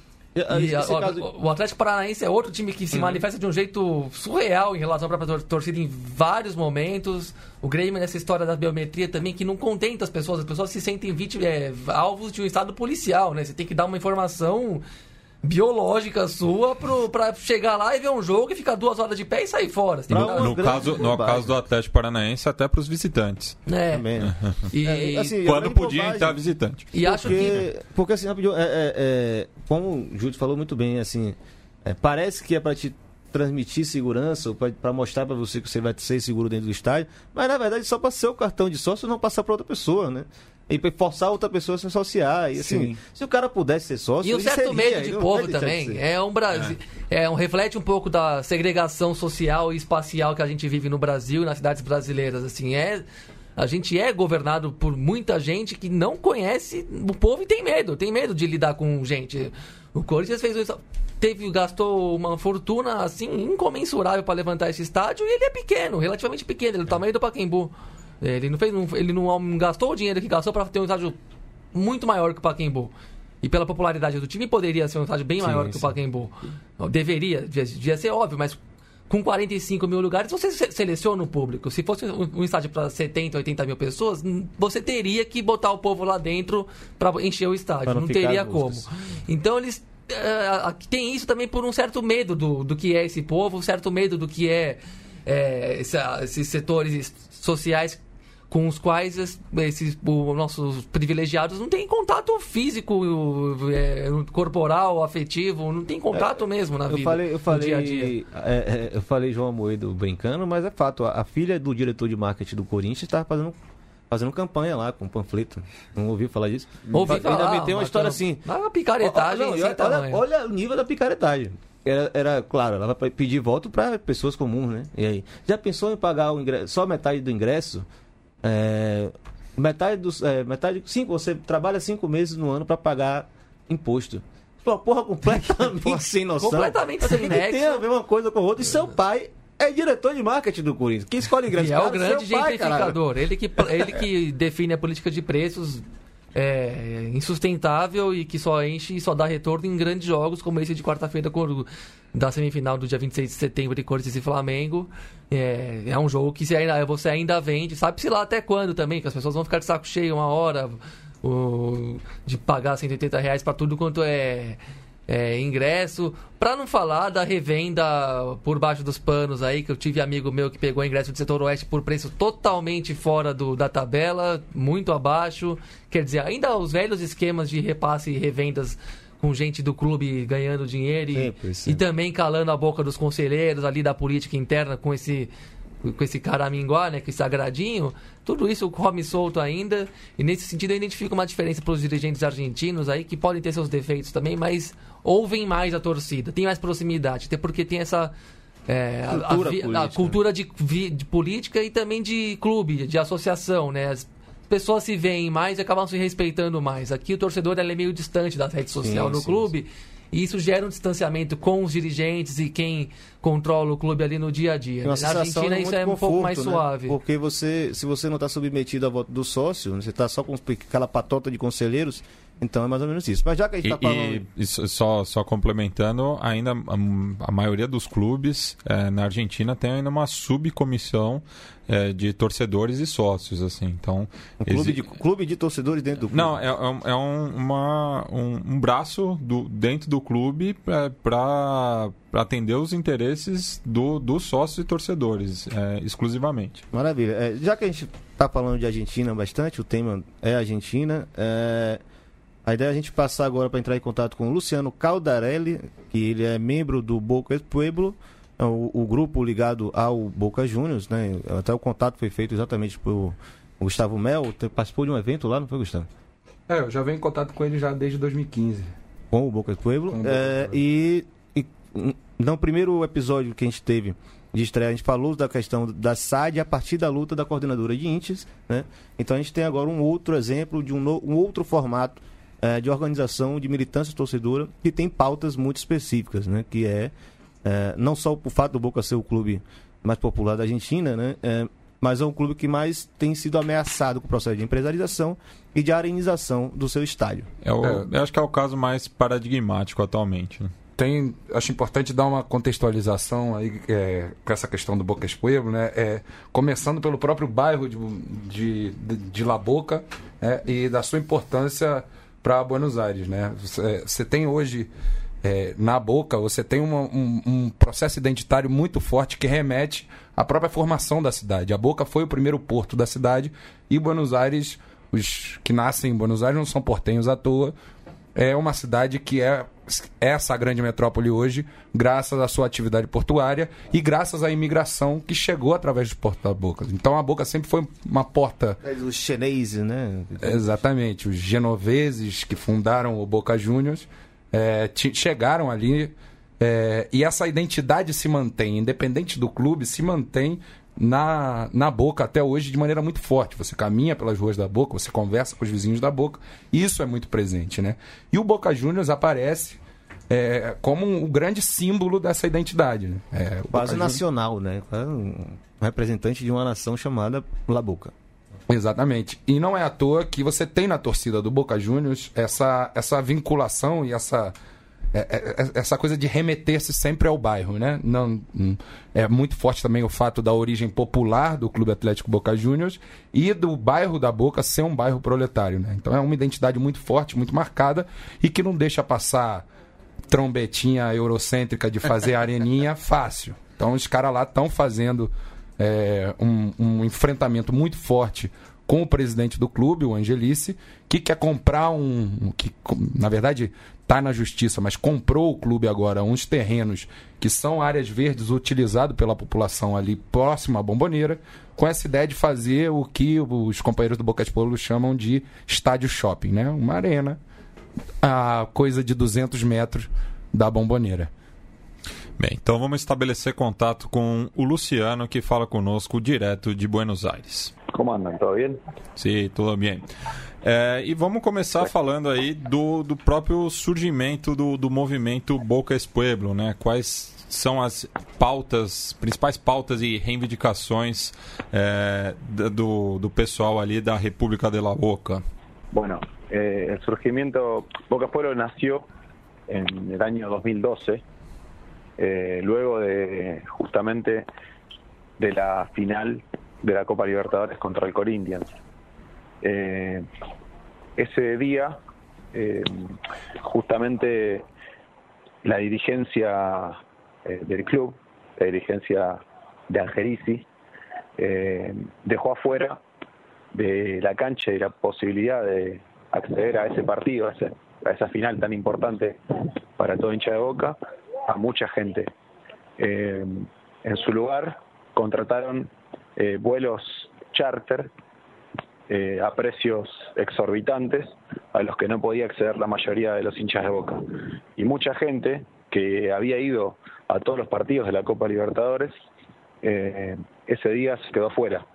E Esse a- o- caso- o Atlético Paranaense é outro time que se manifesta de um jeito surreal em relação à própria tor- torcida em vários momentos. O Grêmio, nessa história da biometria também, que não contenta as pessoas. As pessoas se sentem vítimas, é, alvos de um estado policial, né? Você tem que dar uma informação biológica sua pro, pra chegar lá e ver um jogo e ficar duas horas de pé e sair fora. Você tem Pra que uma dar- No, grande caso, no bobagem. caso do Atlético Paranaense, até para os visitantes. É. Também, né? E, É, assim, é Quando grande podia bobagem. entrar visitante. e acho que... porque, porque assim, rapidinho, é, é, é, como o Júlio falou muito bem, assim, é, parece que é para te transmitir segurança, ou para mostrar para você que você vai ser seguro dentro do estádio, mas na verdade só para ser o cartão de sócio e não passar para outra pessoa, né? E pra forçar outra pessoa a se associar. E assim, Sim. se o cara pudesse ser sócio, E um ele certo seria, medo ele de não povo vai deixar de também. ser. É um Brasil. É. um reflete um pouco da segregação social e espacial que a gente vive no Brasil e nas cidades brasileiras. Assim, é. A gente é governado por muita gente que não conhece o povo e tem medo, tem medo de lidar com gente. O Corinthians fez isso, teve, gastou uma fortuna assim incomensurável para levantar esse estádio e ele é pequeno, relativamente pequeno, ele é do tamanho do Pacaembu. Ele não fez, não, ele não gastou o dinheiro que gastou para ter um estádio muito maior que o Pacaembu. E pela popularidade do time poderia ser um estádio bem Sim, maior que sim. o Pacaembu. Deveria, devia, devia ser óbvio, mas com quarenta e cinco mil lugares, você se- seleciona o público. Se fosse um, um estádio para setenta, oitenta mil pessoas, hum, você teria que botar o povo lá dentro para encher o estádio. Pra não Não, ficar teria as como. músicas. Então eles eh, aqui tem isso também por um certo medo do, do que é esse povo, um certo medo do que é, eh, essa- esses setores sociais com os quais es- esses os nossos privilegiados não têm contato físico, eh, corporal, afetivo, não tem contato mesmo na Eu vida, falei, eu no falei, dia a dia. é, é, eu falei João Amoedo brincando, mas é fato. A, a filha do diretor de marketing do Corinthians estava fazendo, fazendo campanha lá com panfleto. Não ouviu falar disso? Ouvi Ainda falar, me tem uma mas história não- assim. mas uma picaretagem Ó, ó, não, e sem olha, tamanho. olha, olha o nível da picaretagem. Era, era, claro, ela vai pedir voto para pessoas comuns, né? E aí, já pensou em pagar o ingresso, só metade do ingresso? É, metade dos, é, metade, cinco, você trabalha cinco meses no ano para pagar imposto. Uma porra completamente sem noção. Completamente Você sem tem que ter nexo. a mesma coisa com o outro. E seu pai é diretor de marketing do Corinthians. Quem escolhe ingresso E é o caro grande seu pai, caralho. gentrificador. Ele que, ele que define a política de preços é, insustentável e que só enche e só dá retorno em grandes jogos, como esse de quarta-feira com- da semifinal do dia vinte e seis de setembro de Corinthians e Flamengo. É, é um jogo que você ainda, você ainda vende, sabe-se lá até quando também, que as pessoas vão ficar de saco cheio uma hora. o, de pagar cento e oitenta reais para tudo quanto é, é ingresso. Para não falar da revenda por baixo dos panos aí, que eu tive amigo meu que pegou ingresso do setor oeste por preço totalmente fora do, da tabela, muito abaixo. Quer dizer, ainda os velhos esquemas de repasse e revendas com gente do clube ganhando dinheiro e, sempre, sempre. e também calando a boca dos conselheiros ali da política interna com esse, com esse caraminguá, né, com esse agradinho. Tudo isso come solto ainda, e nesse sentido eu identifico uma diferença para os dirigentes argentinos aí, que podem ter seus defeitos também, mas ouvem mais a torcida, tem mais proximidade, até porque tem essa é, cultura, a, a, política, a cultura de, de política e também de clube, de associação, né? As pessoas se veem mais e acabam se respeitando mais. Aqui o torcedor ele é meio distante da rede social sim, no sim, clube, sim. E isso gera um distanciamento com os dirigentes e quem controla o clube ali no dia a dia. Na Argentina isso é um conforto, pouco mais né? suave. Porque você, se você não está submetido à voto do sócio, você está só com aquela patota de conselheiros, então é mais ou menos isso. Mas já que a gente está falando... E, e só, só complementando, ainda a, a maioria dos clubes é, na Argentina tem ainda uma subcomissão é, de torcedores e sócios, assim. Então, um clube, exi... de, clube de torcedores dentro do clube? Não, é, é, é um, uma, um, um braço do, dentro do clube é, para atender os interesses do, dos sócios e torcedores, é, exclusivamente. Maravilha. É, já que a gente está falando de Argentina bastante, o tema é Argentina, é... a ideia é a gente passar agora para entrar em contato com o Luciano Caldarelli, que ele é membro do Boca Pueblo, o, o grupo ligado ao Boca Juniors, né? Até o contato foi feito exatamente por Gustavo Mel, participou de um evento lá, não foi, Gustavo? É, eu já venho em contato com ele já desde dois mil e quinze. Com o Boca Pueblo. Com o Boca é, Pueblo. E, e no primeiro episódio que a gente teve de estreia, a gente falou da questão da S A D a partir da luta da coordenadora de índices, né? Então a gente tem agora um outro exemplo de um, no, um outro formato de organização de militância torcedora que tem pautas muito específicas, né? Que é, é não só o fato do Boca ser o clube mais popular da Argentina, né? É, mas é um clube que mais tem sido ameaçado com o processo de empresarização e de arenização do seu estádio. É o, é. Eu acho que é o caso mais paradigmático atualmente, né? Tem, acho importante dar uma contextualização aí é, com essa questão do Boca Pueblo, né? É, começando pelo próprio bairro de, de, de, de La Boca é, e da sua importância para Buenos Aires, né? Você, você tem hoje é, na Boca, você tem uma, um, um processo identitário muito forte que remete à própria formação da cidade. A Boca foi o primeiro porto da cidade e Buenos Aires, os que nascem em Buenos Aires não são portenhos à toa. É uma cidade que é essa grande metrópole hoje, graças à sua atividade portuária e graças à imigração que chegou através dos portos da Boca. Então a Boca sempre foi uma porta... Os chineses, né? Exatamente. Os genoveses que fundaram o Boca Juniors é, chegaram ali é, e essa identidade se mantém, independente do clube, se mantém na, na Boca até hoje de maneira muito forte. Você caminha pelas ruas da Boca, você conversa com os vizinhos da Boca, isso é muito presente, né? E o Boca Juniors aparece é, como um, um grande símbolo dessa identidade, né? É, quase nacional, né? Um representante de uma nação chamada La Boca. Exatamente. E não é à toa que você tem na torcida do Boca Juniors essa, essa vinculação e essa... essa coisa de remeter-se sempre ao bairro, né? Não, é muito forte também o fato da origem popular do Clube Atlético Boca Juniors e do bairro da Boca ser um bairro proletário, né? Então é uma identidade muito forte, muito marcada e que não deixa passar trombetinha eurocêntrica de fazer areninha fácil. Então os caras lá estão fazendo é, um, um enfrentamento muito forte com o presidente do clube, o Angelici, que quer comprar um... que na verdade está na justiça, mas comprou o clube agora uns terrenos que são áreas verdes utilizados pela população ali próximo à Bombonera, com essa ideia de fazer o que os companheiros do Boca Pueblo chamam de estádio shopping, né? Uma arena a coisa de duzentos metros da Bombonera. Bem, então vamos estabelecer contato com o Luciano, que fala conosco direto de Buenos Aires. Como andam? Tudo bem? Sim, tudo bem. É, e vamos começar falando aí do, do próprio surgimento do, do movimento Boca Pueblo, né? Quais são as pautas, principais pautas e reivindicações é, do, do pessoal ali da República de La Boca? Bueno, eh, el surgimiento Boca Pueblo nació en el año dos mil doce, eh, luego de justamente de la final de la Copa Libertadores contra el Corinthians. Eh, ese día, eh, justamente la dirigencia eh, del club, la dirigencia de Angelici, eh, dejó afuera de la cancha y la posibilidad de acceder a ese partido, a, ese, a esa final tan importante para todo hincha de Boca, a mucha gente. Eh, en su lugar contrataron eh, vuelos charter eh, a precios exorbitantes a los que no podía acceder la mayoría de los hinchas de Boca. Y mucha gente que había ido a todos los partidos de la Copa Libertadores, eh, ese día se quedó fuera.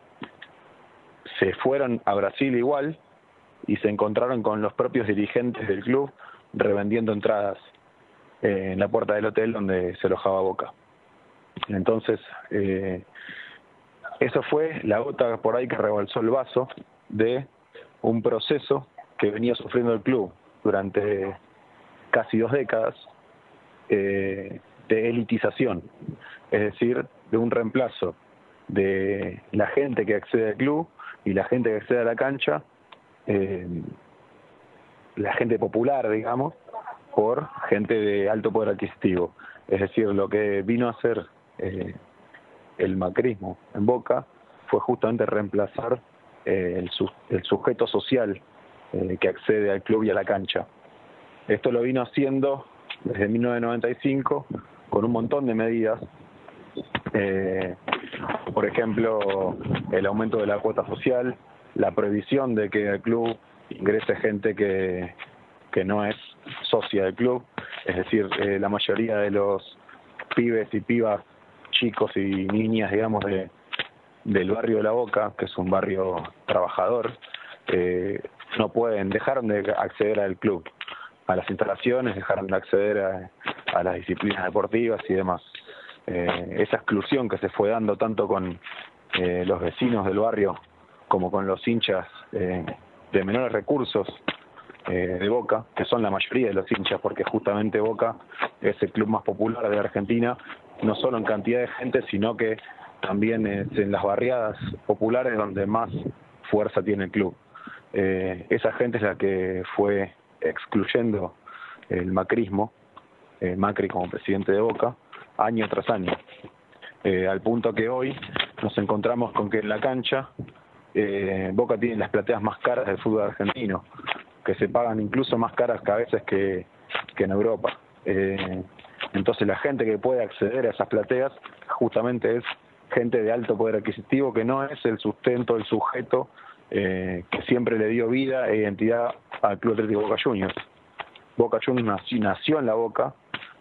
Se fueron a Brasil igual y se encontraron con los propios dirigentes del club revendiendo entradas eh, en la puerta del hotel donde se alojaba Boca. Entonces, eh, eso fue la gota por ahí que rebalsó el vaso de un proceso que venía sufriendo el club durante casi dos décadas eh, de elitización, es decir, de un reemplazo de la gente que accede al club y la gente que accede a la cancha, eh, la gente popular, digamos, por gente de alto poder adquisitivo. Es decir, lo que vino a hacer eh, el macrismo en Boca fue justamente reemplazar eh, el, su, el sujeto social eh, que accede al club y a la cancha. Esto lo vino haciendo desde mil novecientos noventa y cinco con un montón de medidas, eh, por ejemplo, el aumento de la cuota social, la prohibición de que al club ingrese gente que, que no es socia del club, es decir, eh, la mayoría de los pibes y pibas, chicos y niñas, digamos, de, del barrio de La Boca, que es un barrio trabajador, eh, no pueden, dejaron de acceder al club, a las instalaciones, dejaron de acceder a, a las disciplinas deportivas y demás. Eh, esa exclusión que se fue dando tanto con eh, los vecinos del barrio como con los hinchas eh, de menores recursos eh, de Boca, que son la mayoría de los hinchas, porque justamente Boca es el club más popular de la Argentina, no solo en cantidad de gente, sino que también es en las barriadas populares donde más fuerza tiene el club. Eh, esa gente es la que fue excluyendo el macrismo, eh, Macri como presidente de Boca, año tras año, eh, al punto que hoy nos encontramos con que en la cancha eh, Boca tiene las plateas más caras del fútbol argentino, que se pagan incluso más caras que a veces que, que en Europa. Eh, entonces la gente que puede acceder a esas plateas justamente es gente de alto poder adquisitivo, que no es el sustento, el sujeto eh, que siempre le dio vida e identidad al Club Atlético Boca Juniors. Boca Juniors nació, nació en La Boca,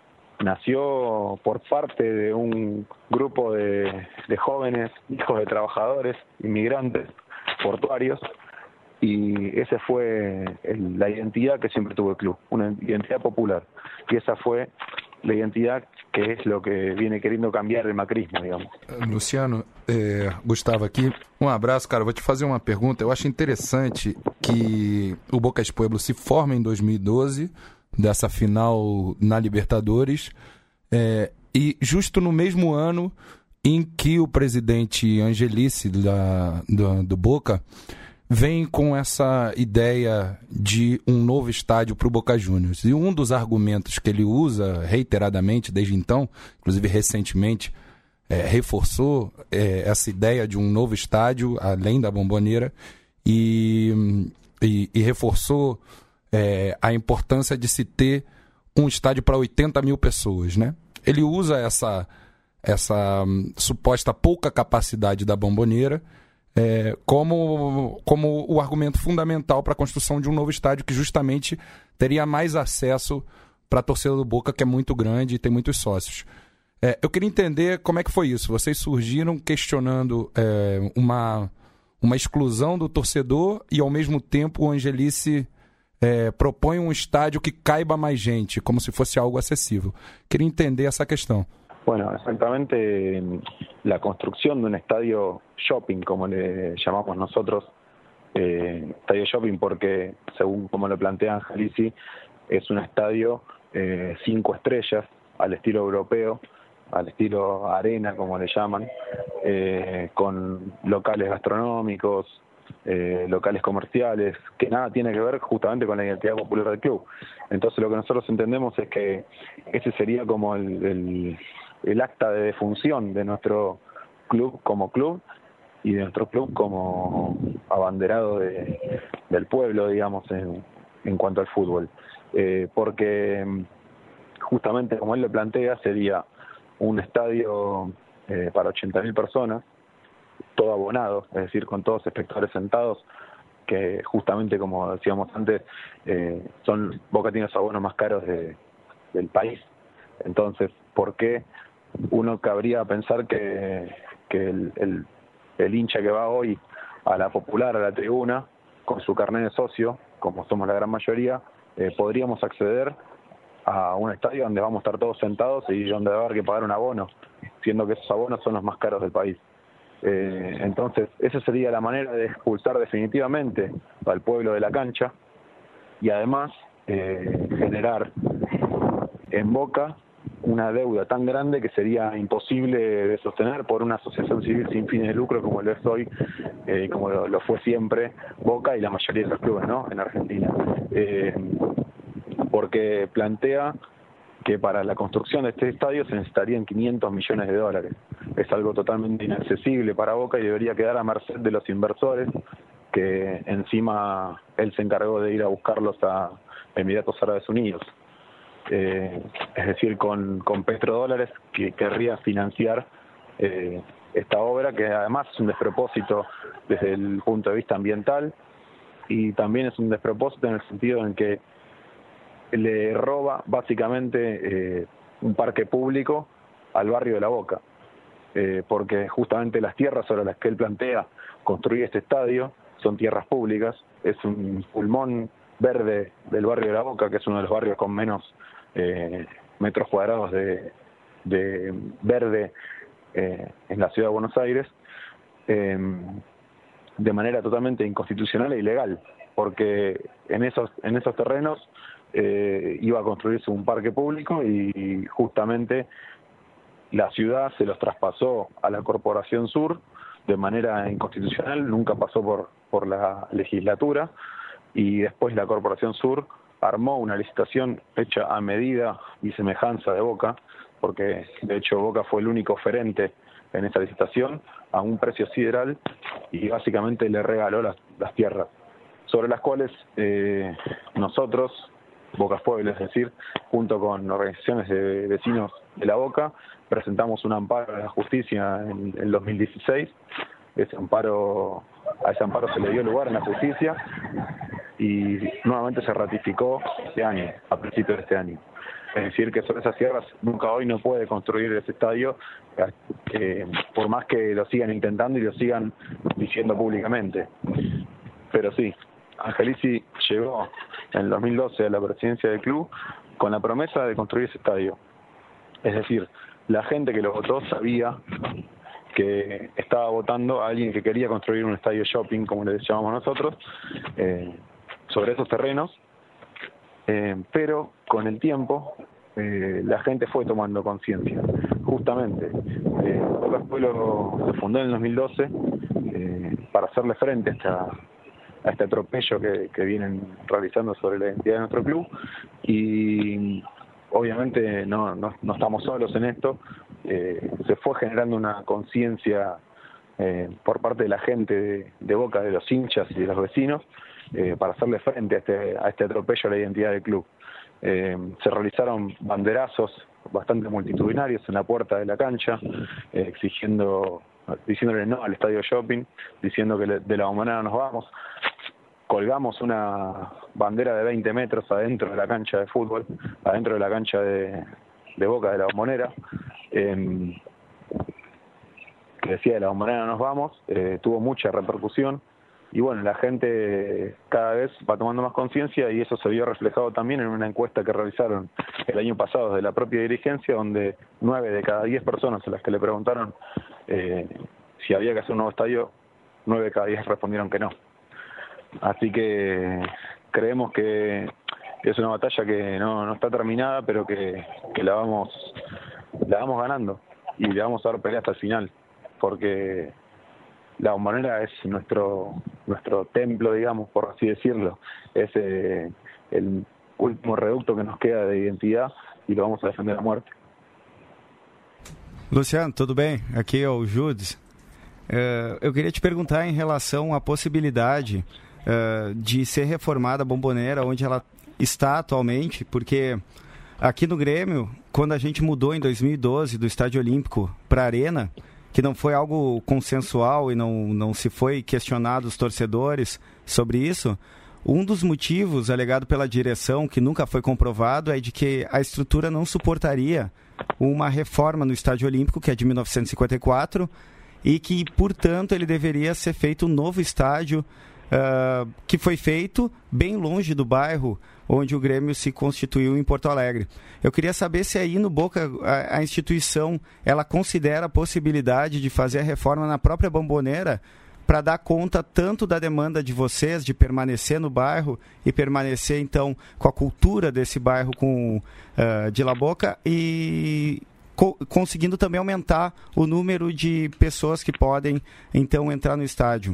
nació por parte de un grupo de, de jóvenes, hijos de trabajadores, inmigrantes, portuarios, y esa fue el, la identidad que siempre tuvo el club, una identidad popular, y esa fue la identidad que es lo que viene querendo cambiar el macrismo, digamos. Luciano, é, Gustavo aqui, um abraço, cara, vou te fazer uma pergunta. Eu acho interessante que o Boca Pueblo se forma em dois mil e doze, dessa final na Libertadores, é, e justo no mesmo ano em que o presidente Angelici da, do, do Boca vem com essa ideia de um novo estádio para o Boca Juniors. E um dos argumentos que ele usa reiteradamente desde então, inclusive recentemente, é, reforçou é, essa ideia de um novo estádio, além da Bombonera, e, e, e reforçou é, a importância de se ter um estádio para oitenta mil pessoas, né? Ele usa essa, essa hum, suposta pouca capacidade da Bombonera É, como, como o argumento fundamental para a construção de um novo estádio que justamente teria mais acesso para a torcida do Boca, que é muito grande e tem muitos sócios. É, eu queria entender como é que foi isso. Vocês surgiram questionando é, uma, uma exclusão do torcedor e, ao mesmo tempo, o Angelici é, propõe um estádio que caiba mais gente, como se fosse algo acessível. Queria entender essa questão. Bueno, exactamente la construcción de un estadio shopping, como le llamamos nosotros, eh, estadio shopping porque, según como lo plantea Angelici, es un estadio eh, cinco estrellas, al estilo europeo, al estilo arena, como le llaman, eh, con locales gastronómicos, eh, locales comerciales, que nada tiene que ver justamente con la identidad popular del club. Entonces lo que nosotros entendemos es que ese sería como el, el, el acta de defunción de nuestro club como club y de nuestro club como abanderado de, del pueblo, digamos, en, en cuanto al fútbol. Eh, porque justamente como él lo plantea, sería un estadio eh, para ochenta mil personas, todo abonado, es decir, con todos espectadores sentados, que justamente, como decíamos antes, eh, son Boca tiene los abonos más caros de, del país. Entonces, ¿por qué uno cabría pensar que, que el, el, el hincha que va hoy a la Popular, a la tribuna, con su carnet de socio, como somos la gran mayoría, eh, podríamos acceder a un estadio donde vamos a estar todos sentados y donde va a haber que pagar un abono, siendo que esos abonos son los más caros del país? Eh, entonces, esa sería la manera de expulsar definitivamente al pueblo de la cancha y además eh, generar en Boca una deuda tan grande que sería imposible de sostener por una asociación civil sin fines de lucro como lo es hoy, eh, como lo, lo fue siempre Boca y la mayoría de los clubes, ¿no?, en Argentina. Eh, porque plantea que para la construcción de este estadio se necesitarían quinientos millones de dólares. Es algo totalmente inaccesible para Boca y debería quedar a merced de los inversores, que encima él se encargó de ir a buscarlos a Emiratos Árabes Unidos. Eh, es decir, con, con petrodólares que querría financiar eh, esta obra, que además es un despropósito desde el punto de vista ambiental y también es un despropósito en el sentido en que le roba básicamente eh, un parque público al barrio de La Boca, eh, porque justamente las tierras sobre las que él plantea construir este estadio son tierras públicas, es un pulmón verde del barrio de La Boca, que es uno de los barrios con menos eh, metros cuadrados de, de verde eh, en la ciudad de Buenos Aires, eh, de manera totalmente inconstitucional e ilegal, porque en esos, en esos terrenos Eh, iba a construirse un parque público y justamente la ciudad se los traspasó a la Corporación Sur de manera inconstitucional, nunca pasó por, por la legislatura, y después la Corporación Sur armó una licitación hecha a medida y semejanza de Boca, porque de hecho Boca fue el único oferente en esa licitación a un precio sideral y básicamente le regaló las, las tierras, sobre las cuales eh, nosotros, Boca Pueblo, es decir, junto con organizaciones de vecinos de La Boca, presentamos un amparo a la justicia en el dos mil dieciséis. Ese amparo, a ese amparo se le dio lugar en la justicia y nuevamente se ratificó este año, a principios de este año. Es decir, que sobre esas tierras nunca hoy no puede construir ese estadio, eh, por más que lo sigan intentando y lo sigan diciendo públicamente. Pero sí, Angelici llegó en el dos mil doce a la presidencia del club con la promesa de construir ese estadio. Es decir, la gente que lo votó sabía que estaba votando a alguien que quería construir un estadio shopping, como le llamamos nosotros, eh, sobre esos terrenos, eh, pero con el tiempo eh, la gente fue tomando conciencia. Justamente, eh, Boca Pueblo se fundó en el dos mil doce eh, para hacerle frente a esta a este atropello que, que vienen realizando sobre la identidad de nuestro club, y obviamente no, no, no estamos solos en esto. Eh, se fue generando una conciencia eh, por parte de la gente de, de Boca, de los hinchas y de los vecinos, eh, para hacerle frente a este, a este atropello a la identidad del club. Eh, se realizaron banderazos bastante multitudinarios en la puerta de la cancha, eh, exigiendo diciéndole no al estadio shopping, diciendo que de la Bombonera nos vamos. Colgamos una bandera de veinte metros adentro de la cancha de fútbol, adentro de la cancha de, de Boca de la Bombonera, eh, que decía de la Bombonera nos vamos. Eh, tuvo mucha repercusión y bueno, la gente cada vez va tomando más conciencia y eso se vio reflejado también en una encuesta que realizaron el año pasado de la propia dirigencia, donde nueve de cada diez personas a las que le preguntaron eh, si había que hacer un nuevo estadio, nueve de cada diez respondieron que no. Así que creemos que es una batalla que no, no está terminada, pero que, que la vamos la vamos ganando y le vamos a dar pelea hasta el final, porque la Bombonera es nuestro nuestro templo, digamos, por así decirlo. Es eh, el último reducto que nos queda de identidad e lo vamos a defender a muerte. Luciano, tudo bem? Aqui é o Judes. Uh, eu queria te perguntar em relação à possibilidade uh, de ser reformada a Bombonera onde ela está atualmente, porque aqui no Grêmio, quando a gente mudou em dois mil e doze do Estádio Olímpico para a Arena, que não foi algo consensual e não, não se foi questionado os torcedores sobre isso, um dos motivos alegado pela direção, que nunca foi comprovado, é de que a estrutura não suportaria uma reforma no Estádio Olímpico, que é de mil novecentos e cinquenta e quatro, e que, portanto, ele deveria ser feito um novo estádio, uh, que foi feito bem longe do bairro onde o Grêmio se constituiu em Porto Alegre. Eu queria saber se aí no Boca a, a instituição ela considera a possibilidade de fazer a reforma na própria Bombonera para dar conta tanto da demanda de vocês de permanecer no bairro e permanecer então com a cultura desse bairro com uh, de La Boca e co- conseguindo também aumentar o número de pessoas que podem então entrar no estádio.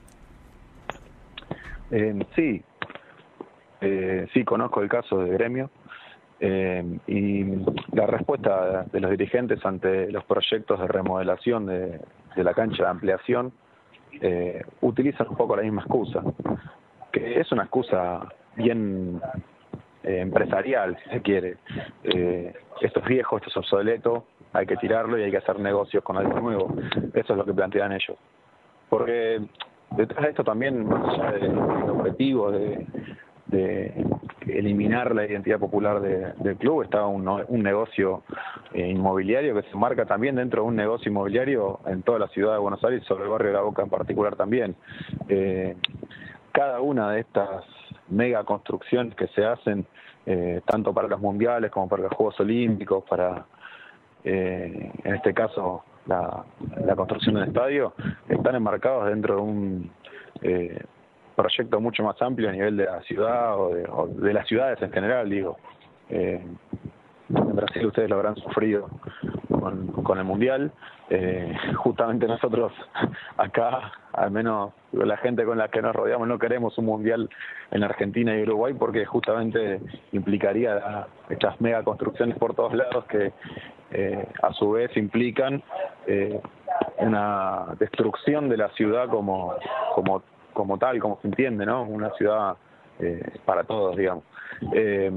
Eh, sí, eh, sí conozco el caso de Gremio eh, y la respuesta de los dirigentes ante los proyectos de remodelación de, de la cancha de ampliación eh, utilizan un poco la misma excusa, que es una excusa bien eh, empresarial, si se quiere. Eh, esto es viejo, esto es obsoleto, hay que tirarlo y hay que hacer negocios con algo nuevo. Eso es lo que plantean ellos. Porque detrás de esto también, más allá del objetivo de, de eliminar la identidad popular de, del club, está un, un negocio eh, inmobiliario que se marca también dentro de un negocio inmobiliario en toda la ciudad de Buenos Aires, sobre el barrio de La Boca en particular también. Eh, cada una de estas mega construcciones que se hacen, eh, tanto para los mundiales como para los Juegos Olímpicos, para, eh, en este caso, la, la construcción del estadio, están enmarcados dentro de un eh, proyecto mucho más amplio a nivel de la ciudad o de, o de las ciudades en general, digo. Eh, en Brasil ustedes lo habrán sufrido con, con el Mundial. Eh, justamente nosotros acá, al menos la gente con la que nos rodeamos, no queremos un Mundial en Argentina y Uruguay porque justamente implicaría la, estas mega construcciones por todos lados que eh, a su vez implican eh, una destrucción de la ciudad como, como, como tal, como se entiende, ¿no? Una ciudad eh, para todos, digamos. Eh,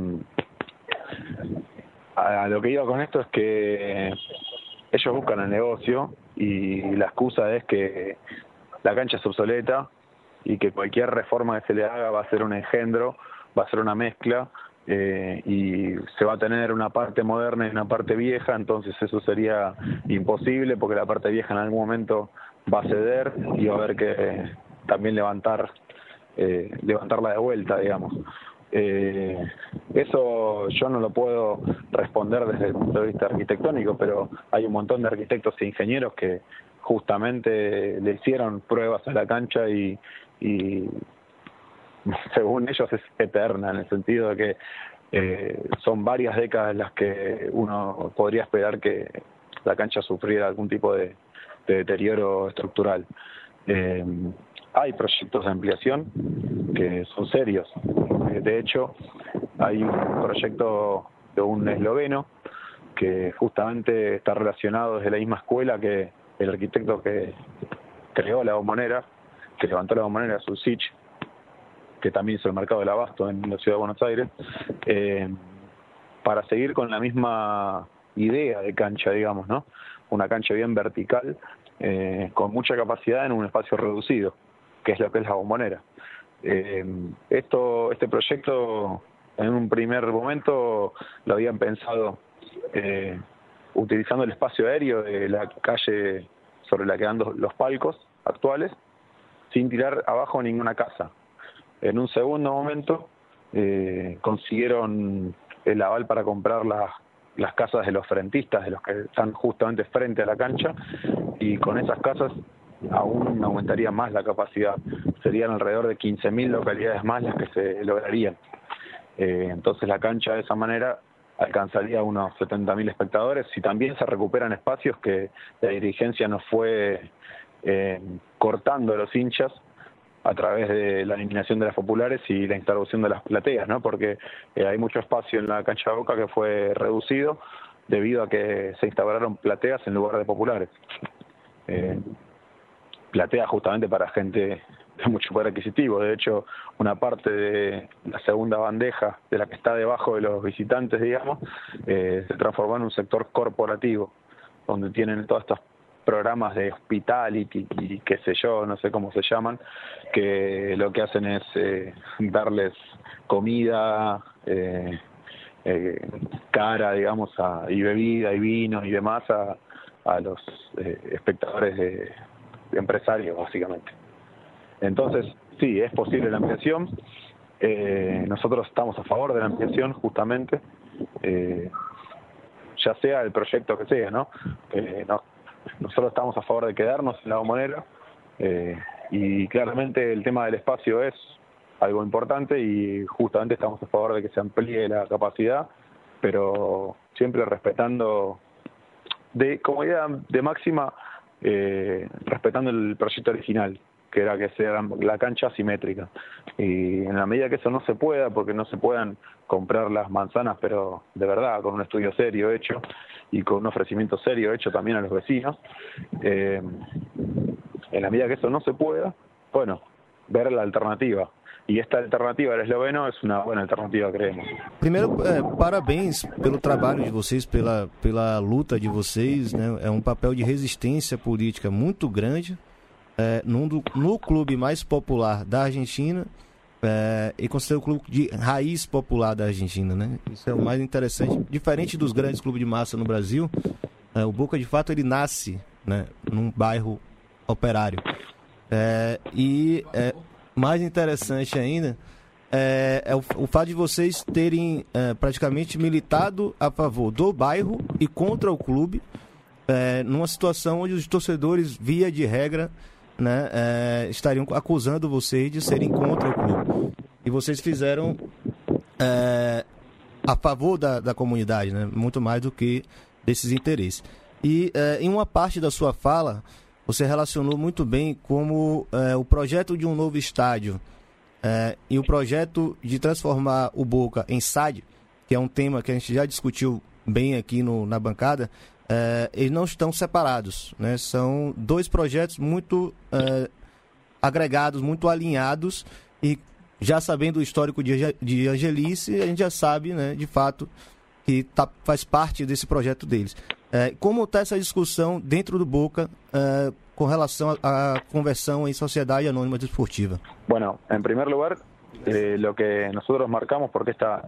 a lo que iba con esto es que ellos buscan el negocio y la excusa es que la cancha es obsoleta y que cualquier reforma que se le haga va a ser un engendro, va a ser una mezcla eh, y se va a tener una parte moderna y una parte vieja, entonces eso sería imposible porque la parte vieja en algún momento va a ceder y va a haber que también levantar eh, levantarla de vuelta, digamos. Eh, eso yo no lo puedo responder desde el punto de vista arquitectónico, pero hay un montón de arquitectos e ingenieros que justamente le hicieron pruebas a la cancha y, y según ellos es eterna, en el sentido de que eh, son varias décadas en las que uno podría esperar que la cancha sufriera algún tipo de, de deterioro estructural. Eh, hay proyectos de ampliación que son serios. De hecho, hay un proyecto de un esloveno que justamente está relacionado desde la misma escuela que el arquitecto que creó la Bombonera, que levantó la Bombonera, Sulcic, que también hizo el mercado del abasto en la ciudad de Buenos Aires, eh, para seguir con la misma idea de cancha, digamos, ¿no? Una cancha bien vertical, eh, con mucha capacidad en un espacio reducido, que es lo que es la Bombonera. Eh, esto, este proyecto en un primer momento lo habían pensado eh, utilizando el espacio aéreo de la calle sobre la que dan los palcos actuales, sin tirar abajo ninguna casa. En un segundo momento eh, consiguieron el aval para comprar las, las casas de los frentistas, de los que están justamente frente a la cancha, y con esas casas aún aumentaría más la capacidad. Serían alrededor de quince mil localidades más las que se lograrían. Eh, entonces la cancha de esa manera alcanzaría unos setenta mil espectadores y también se recuperan espacios que la dirigencia no fue eh, cortando a los hinchas a través de la eliminación de las populares y la instalación de las plateas, ¿no? Porque eh, hay mucho espacio en la cancha de Boca que fue reducido debido a que se instalaron plateas en lugar de populares. Eh, plateas justamente para gente de mucho poder adquisitivo. De hecho, una parte de la segunda bandeja, de la que está debajo de los visitantes, digamos, eh, se transformó en un sector corporativo, donde tienen todos estos programas de hospitality y qué sé yo, no sé cómo se llaman, que lo que hacen es eh, darles comida eh, eh, cara, digamos, a, y bebida y vino y demás a, a los eh, espectadores de, de empresarios, básicamente. Entonces, sí, es posible la ampliación. Eh, nosotros estamos a favor de la ampliación, justamente, eh, ya sea el proyecto que sea, ¿no? Eh, no Nosotros estamos a favor de quedarnos en la Bombonera eh, y claramente el tema del espacio es algo importante y justamente estamos a favor de que se amplíe la capacidad, pero siempre respetando, de como idea de máxima, eh, respetando el proyecto original, que era que sea la cancha asimétrica. Y en la medida que eso no se pueda, porque no se puedan comprar las manzanas, pero de verdad, con un estudio serio hecho y con un ofrecimiento serio hecho también a los vecinos, eh, en la medida que eso no se pueda, bueno, ver la alternativa. E esta alternativa del esloveno é uma boa alternativa, creemos. Primeiro, é, parabéns pelo trabalho de vocês, pela, pela luta de vocês, né? É um papel de resistência política muito grande é, num do, no clube mais popular da Argentina é, e considerado o clube de raiz popular da Argentina, né? Isso é o mais interessante. Diferente dos grandes clubes de massa no Brasil, é, o Boca, de fato, ele nasce, né, num bairro operário. É, e... É, mais interessante ainda é, é o, o fato de vocês terem é, praticamente militado a favor do bairro e contra o clube, é, numa situação onde os torcedores, via de regra, né, é, estariam acusando vocês de serem contra o clube. E vocês fizeram é, a favor da, da comunidade, né, muito mais do que desses interesses. E é, em uma parte da sua fala, você relacionou muito bem como é, o projeto de um novo estádio é, e o projeto de transformar o Boca em S A D, que é um tema que a gente já discutiu bem aqui no, na bancada, é, eles não estão separados, né? São dois projetos muito é, agregados, muito alinhados, e já sabendo o histórico de, de Angelice, a gente já sabe, né, de fato, que tá, faz parte desse projeto deles. Eh, como está essa discussão dentro do Boca eh, com relação à conversão em sociedade anônima desportiva? Bueno, en primer lugar, eh, lo que nosotros marcamos, porque esta,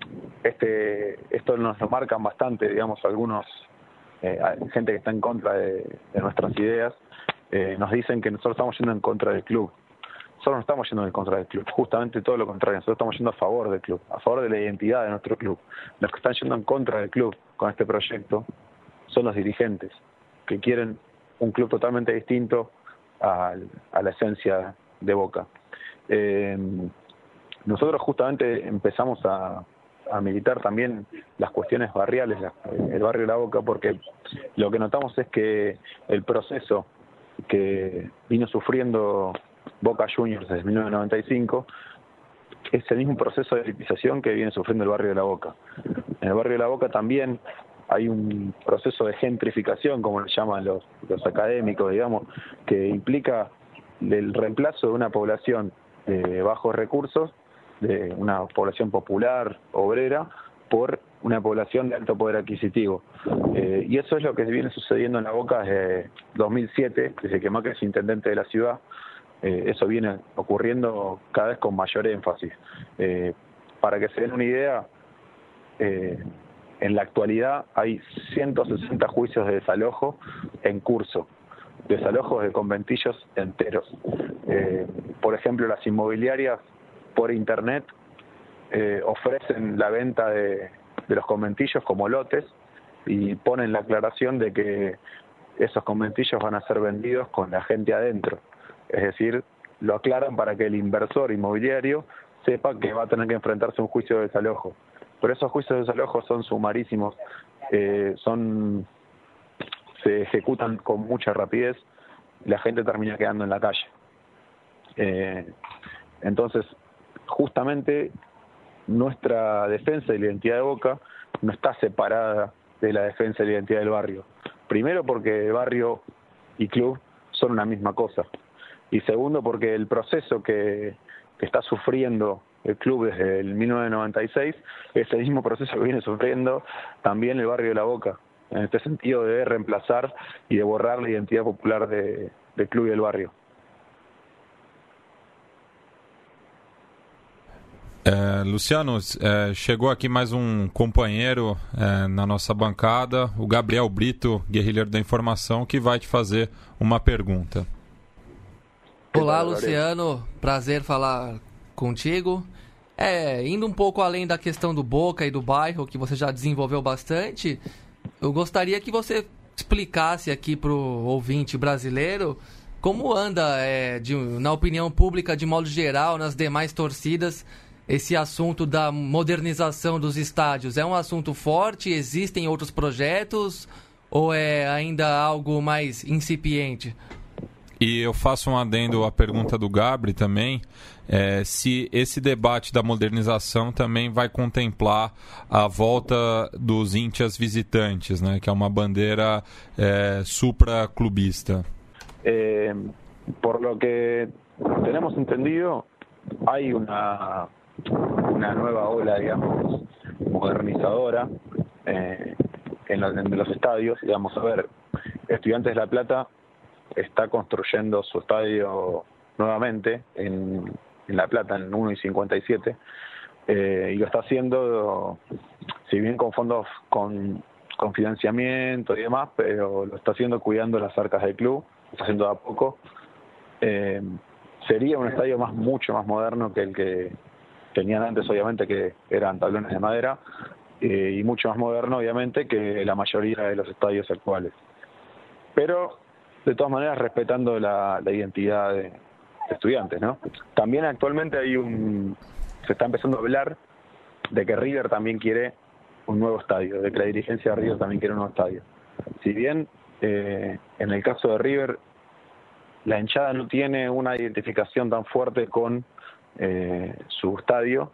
este, esto nos lo marcan bastante, digamos, algunos, eh, gente que está en contra de, de nuestras ideas, eh, nos dicen que nosotros estamos yendo en contra del club. Nosotros no estamos yendo en contra del club, justamente todo lo contrario, nosotros estamos yendo a favor del club, a favor de la identidad de nuestro club. Los que están yendo en contra del club con este proyecto son los dirigentes, que quieren un club totalmente distinto a, a la esencia de Boca. Eh, nosotros justamente empezamos a, a militar también las cuestiones barriales, la, el barrio de La Boca, porque lo que notamos es que el proceso que vino sufriendo Boca Juniors desde mil novecientos noventa y cinco es el mismo proceso de elitización que viene sufriendo el barrio de La Boca. En el barrio de La Boca también hay un proceso de gentrificación, como lo llaman los, los académicos, digamos, que implica el reemplazo de una población de bajos recursos, de una población popular, obrera, por una población de alto poder adquisitivo. Eh, y eso es lo que viene sucediendo en La Boca desde dos mil siete, desde que Macri es intendente de la ciudad. Eh, eso viene ocurriendo cada vez con mayor énfasis. Eh, para que se den una idea, eh, en la actualidad hay ciento sesenta juicios de desalojo en curso, desalojos de conventillos enteros. Eh, por ejemplo, las inmobiliarias por internet eh, ofrecen la venta de, de los conventillos como lotes y ponen la aclaración de que esos conventillos van a ser vendidos con la gente adentro. Es decir, lo aclaran para que el inversor inmobiliario sepa que va a tener que enfrentarse a un juicio de desalojo. Pero esos juicios de desalojo son sumarísimos, eh, son se ejecutan con mucha rapidez la gente termina quedando en la calle. Eh, entonces, justamente nuestra defensa de la identidad de Boca no está separada de la defensa de la identidad del barrio. Primero porque barrio y club son una misma cosa. Y segundo porque el proceso que, que está sufriendo el club desde el mil novecientos noventa y seis es el mismo proceso que viene sufriendo también el barrio de La Boca. En este sentido de reemplazar y de borrar la identidad popular de, del club y del barrio. É, Luciano, é, chegou aqui mais um companheiro é, na nossa bancada, o Gabriel Brito, guerrilheiro da informação, que vai te fazer uma pergunta. Olá, Luciano, prazer falar contigo. É, indo um pouco além da questão do Boca e do bairro, que você já desenvolveu bastante, eu gostaria que você explicasse aqui para o ouvinte brasileiro como anda, é, de, na opinião pública, de modo geral, nas demais torcidas, esse assunto da modernização dos estádios. É um assunto forte? Existem outros projetos? Ou é ainda algo mais incipiente? E eu faço um adendo à pergunta do Gabri também, é, se esse debate da modernização também vai contemplar a volta dos íntias visitantes, né, que é uma bandeira é, supraclubista. Eh, por lo que tenemos entendido, hay una, una nueva ola, digamos, modernizadora eh, en, los, en los estadios. Digamos, a ver, Estudiantes de La Plata está construyendo su estadio nuevamente en, en La Plata, en uno y cincuenta y siete, eh, y lo está haciendo, si bien con fondos con, con financiamiento y demás, pero lo está haciendo cuidando las arcas del club, lo está haciendo de a poco. Eh, sería un estadio más mucho más moderno que el que tenían antes, obviamente, que eran tablones de madera, eh, y mucho más moderno, obviamente, que la mayoría de los estadios actuales. Pero de todas maneras respetando la, la identidad de, de Estudiantes, ¿no? También actualmente hay un, se está empezando a hablar de que River también quiere un nuevo estadio, de que la dirigencia de River también quiere un nuevo estadio. Si bien eh, en el caso de River la hinchada no tiene una identificación tan fuerte con eh, su estadio,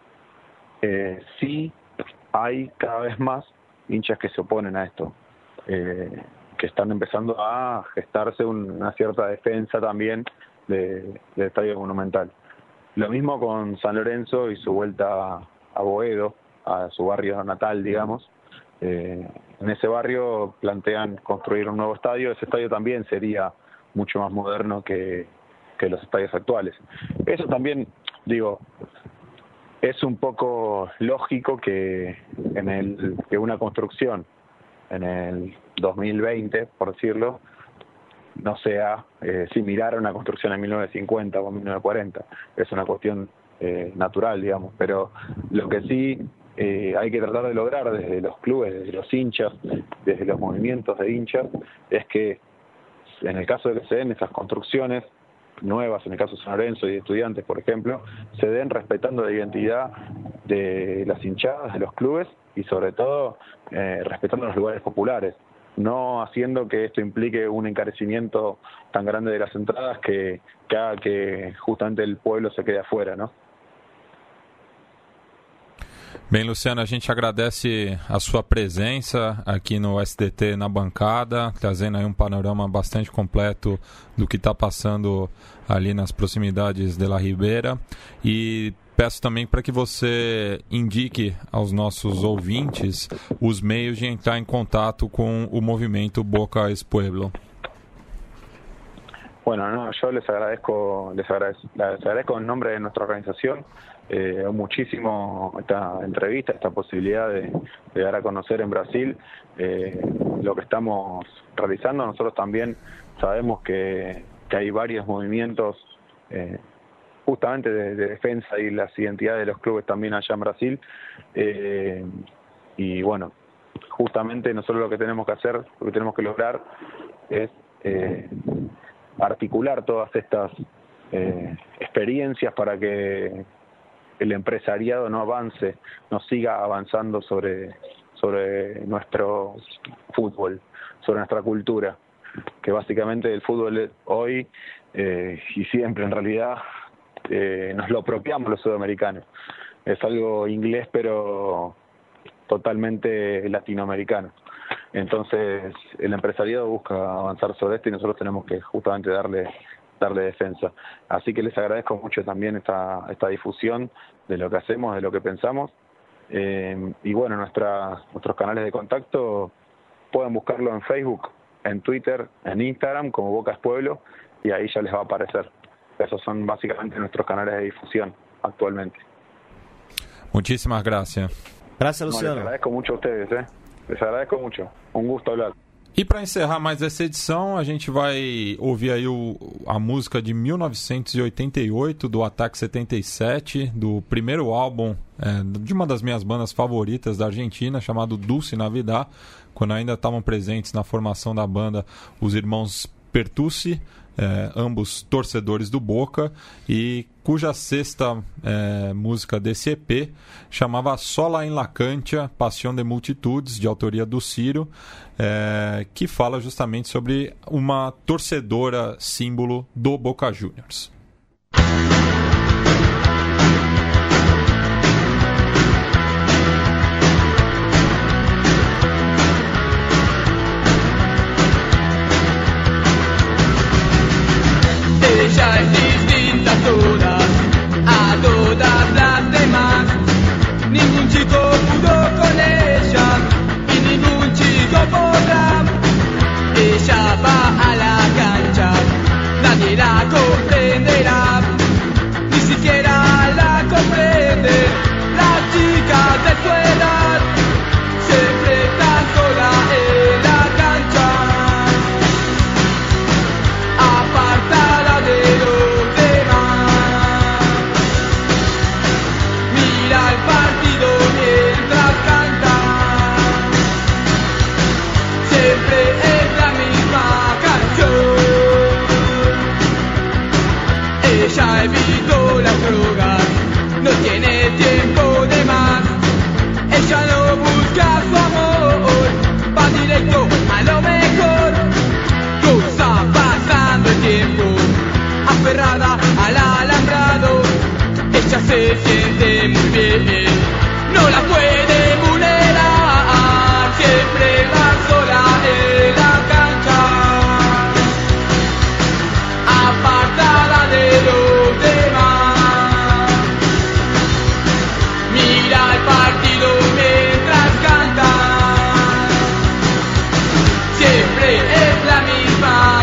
eh, sí hay cada vez más hinchas que se oponen a esto. Eh, que están empezando a gestarse una cierta defensa también de, del Estadio Monumental. Lo mismo con San Lorenzo y su vuelta a Boedo, a su barrio natal, digamos. Eh, en ese barrio plantean construir un nuevo estadio. Ese estadio también sería mucho más moderno que, que los estadios actuales. Eso también, digo, es un poco lógico que en el que una construcción en el dos mil veinte, por decirlo, no sea eh, similar a una construcción en mil novecientos cincuenta o mil novecientos cuarenta. Es una cuestión eh, natural, digamos, pero lo que sí eh, hay que tratar de lograr desde los clubes, desde los hinchas, desde los movimientos de hinchas, es que en el caso de que se den esas construcciones nuevas, en el caso de San Lorenzo y de Estudiantes, por ejemplo, se den respetando la identidad de las hinchadas, de los clubes, y sobre todo eh, respetando los lugares populares, no haciendo que esto implique un encarecimiento tan grande de las entradas que, que haga que justamente el pueblo se quede afuera, ¿no? Bem, Luciano, a gente agradece a sua presença aqui no S D T na bancada, trazendo aí um panorama bastante completo do que está passando ali nas proximidades de La Ribeira, e peço também para que você indique aos nossos ouvintes os meios de entrar em contato com o movimento Boca es Pueblo. Bueno, no, yo les agradezco, les agradezco, les agradezco en nombre de nuestra organización eh, muchísimo esta entrevista, esta posibilidad de, de dar a conocer en Brasil eh, lo que estamos realizando. Nosotros también sabemos que, que hay varios movimientos eh, justamente de, de defensa y las identidades de los clubes también allá en Brasil, eh, y bueno, justamente nosotros lo que tenemos que hacer, lo que tenemos que lograr es eh, articular todas estas eh, experiencias para que el empresariado no avance, no siga avanzando sobre, sobre nuestro fútbol, sobre nuestra cultura. que básicamente el fútbol hoy eh, y siempre en realidad eh, nos lo apropiamos los sudamericanos. Es algo inglés pero totalmente latinoamericano. Entonces el empresariado busca avanzar sobre esto y nosotros tenemos que justamente darle darle defensa. Así que les agradezco mucho también esta esta difusión de lo que hacemos, de lo que pensamos. Eh, y bueno, nuestra, nuestros canales de contacto pueden buscarlo en Facebook, en Twitter, en Instagram como Boca es Pueblo, y ahí ya les va a aparecer. Esos son básicamente nuestros canales de difusión actualmente. Muchísimas gracias. Gracias, No, Luciano. les agradezco mucho a ustedes, ¿eh? Les agradezco mucho. Um gusto hablar. E para encerrar mais essa edição, a gente vai ouvir aí o, a música de mil novecentos e oitenta e oito, do Ataque setenta e sete, do primeiro álbum é, de uma das minhas bandas favoritas da Argentina, chamado Dulce Navidad, quando ainda estavam presentes na formação da banda os irmãos Pertucci, é, ambos torcedores do Boca, e cuja sexta é, música desse E P chamava Sola em la Cancha, Passión de Multitudes, de autoria do Ciro, é, que fala justamente sobre uma torcedora símbolo do Boca Juniors. Ella es distinta a todas, a todas las demás. Ningún chico pudo con ella y ningún chico podrá. Ella va a la cancha, nadie la comprenderá, ni siquiera la comprende las chicas de su edad. Siempre está sola en la cancha, apartada de los demás. Mira el partido mientras canta, siempre es la misma canción. Ella evitó las drogas, no tiene tiempo de más. Ella no busca su amor, va directo a lo mejor. Cosa pasando el tiempo, aferrada al alambrado. Ella se siente muy bien, no la puede vulnerar. Siempre va sola en la cancha, apartada de los demás. Mira el partido mientras canta, siempre es la misma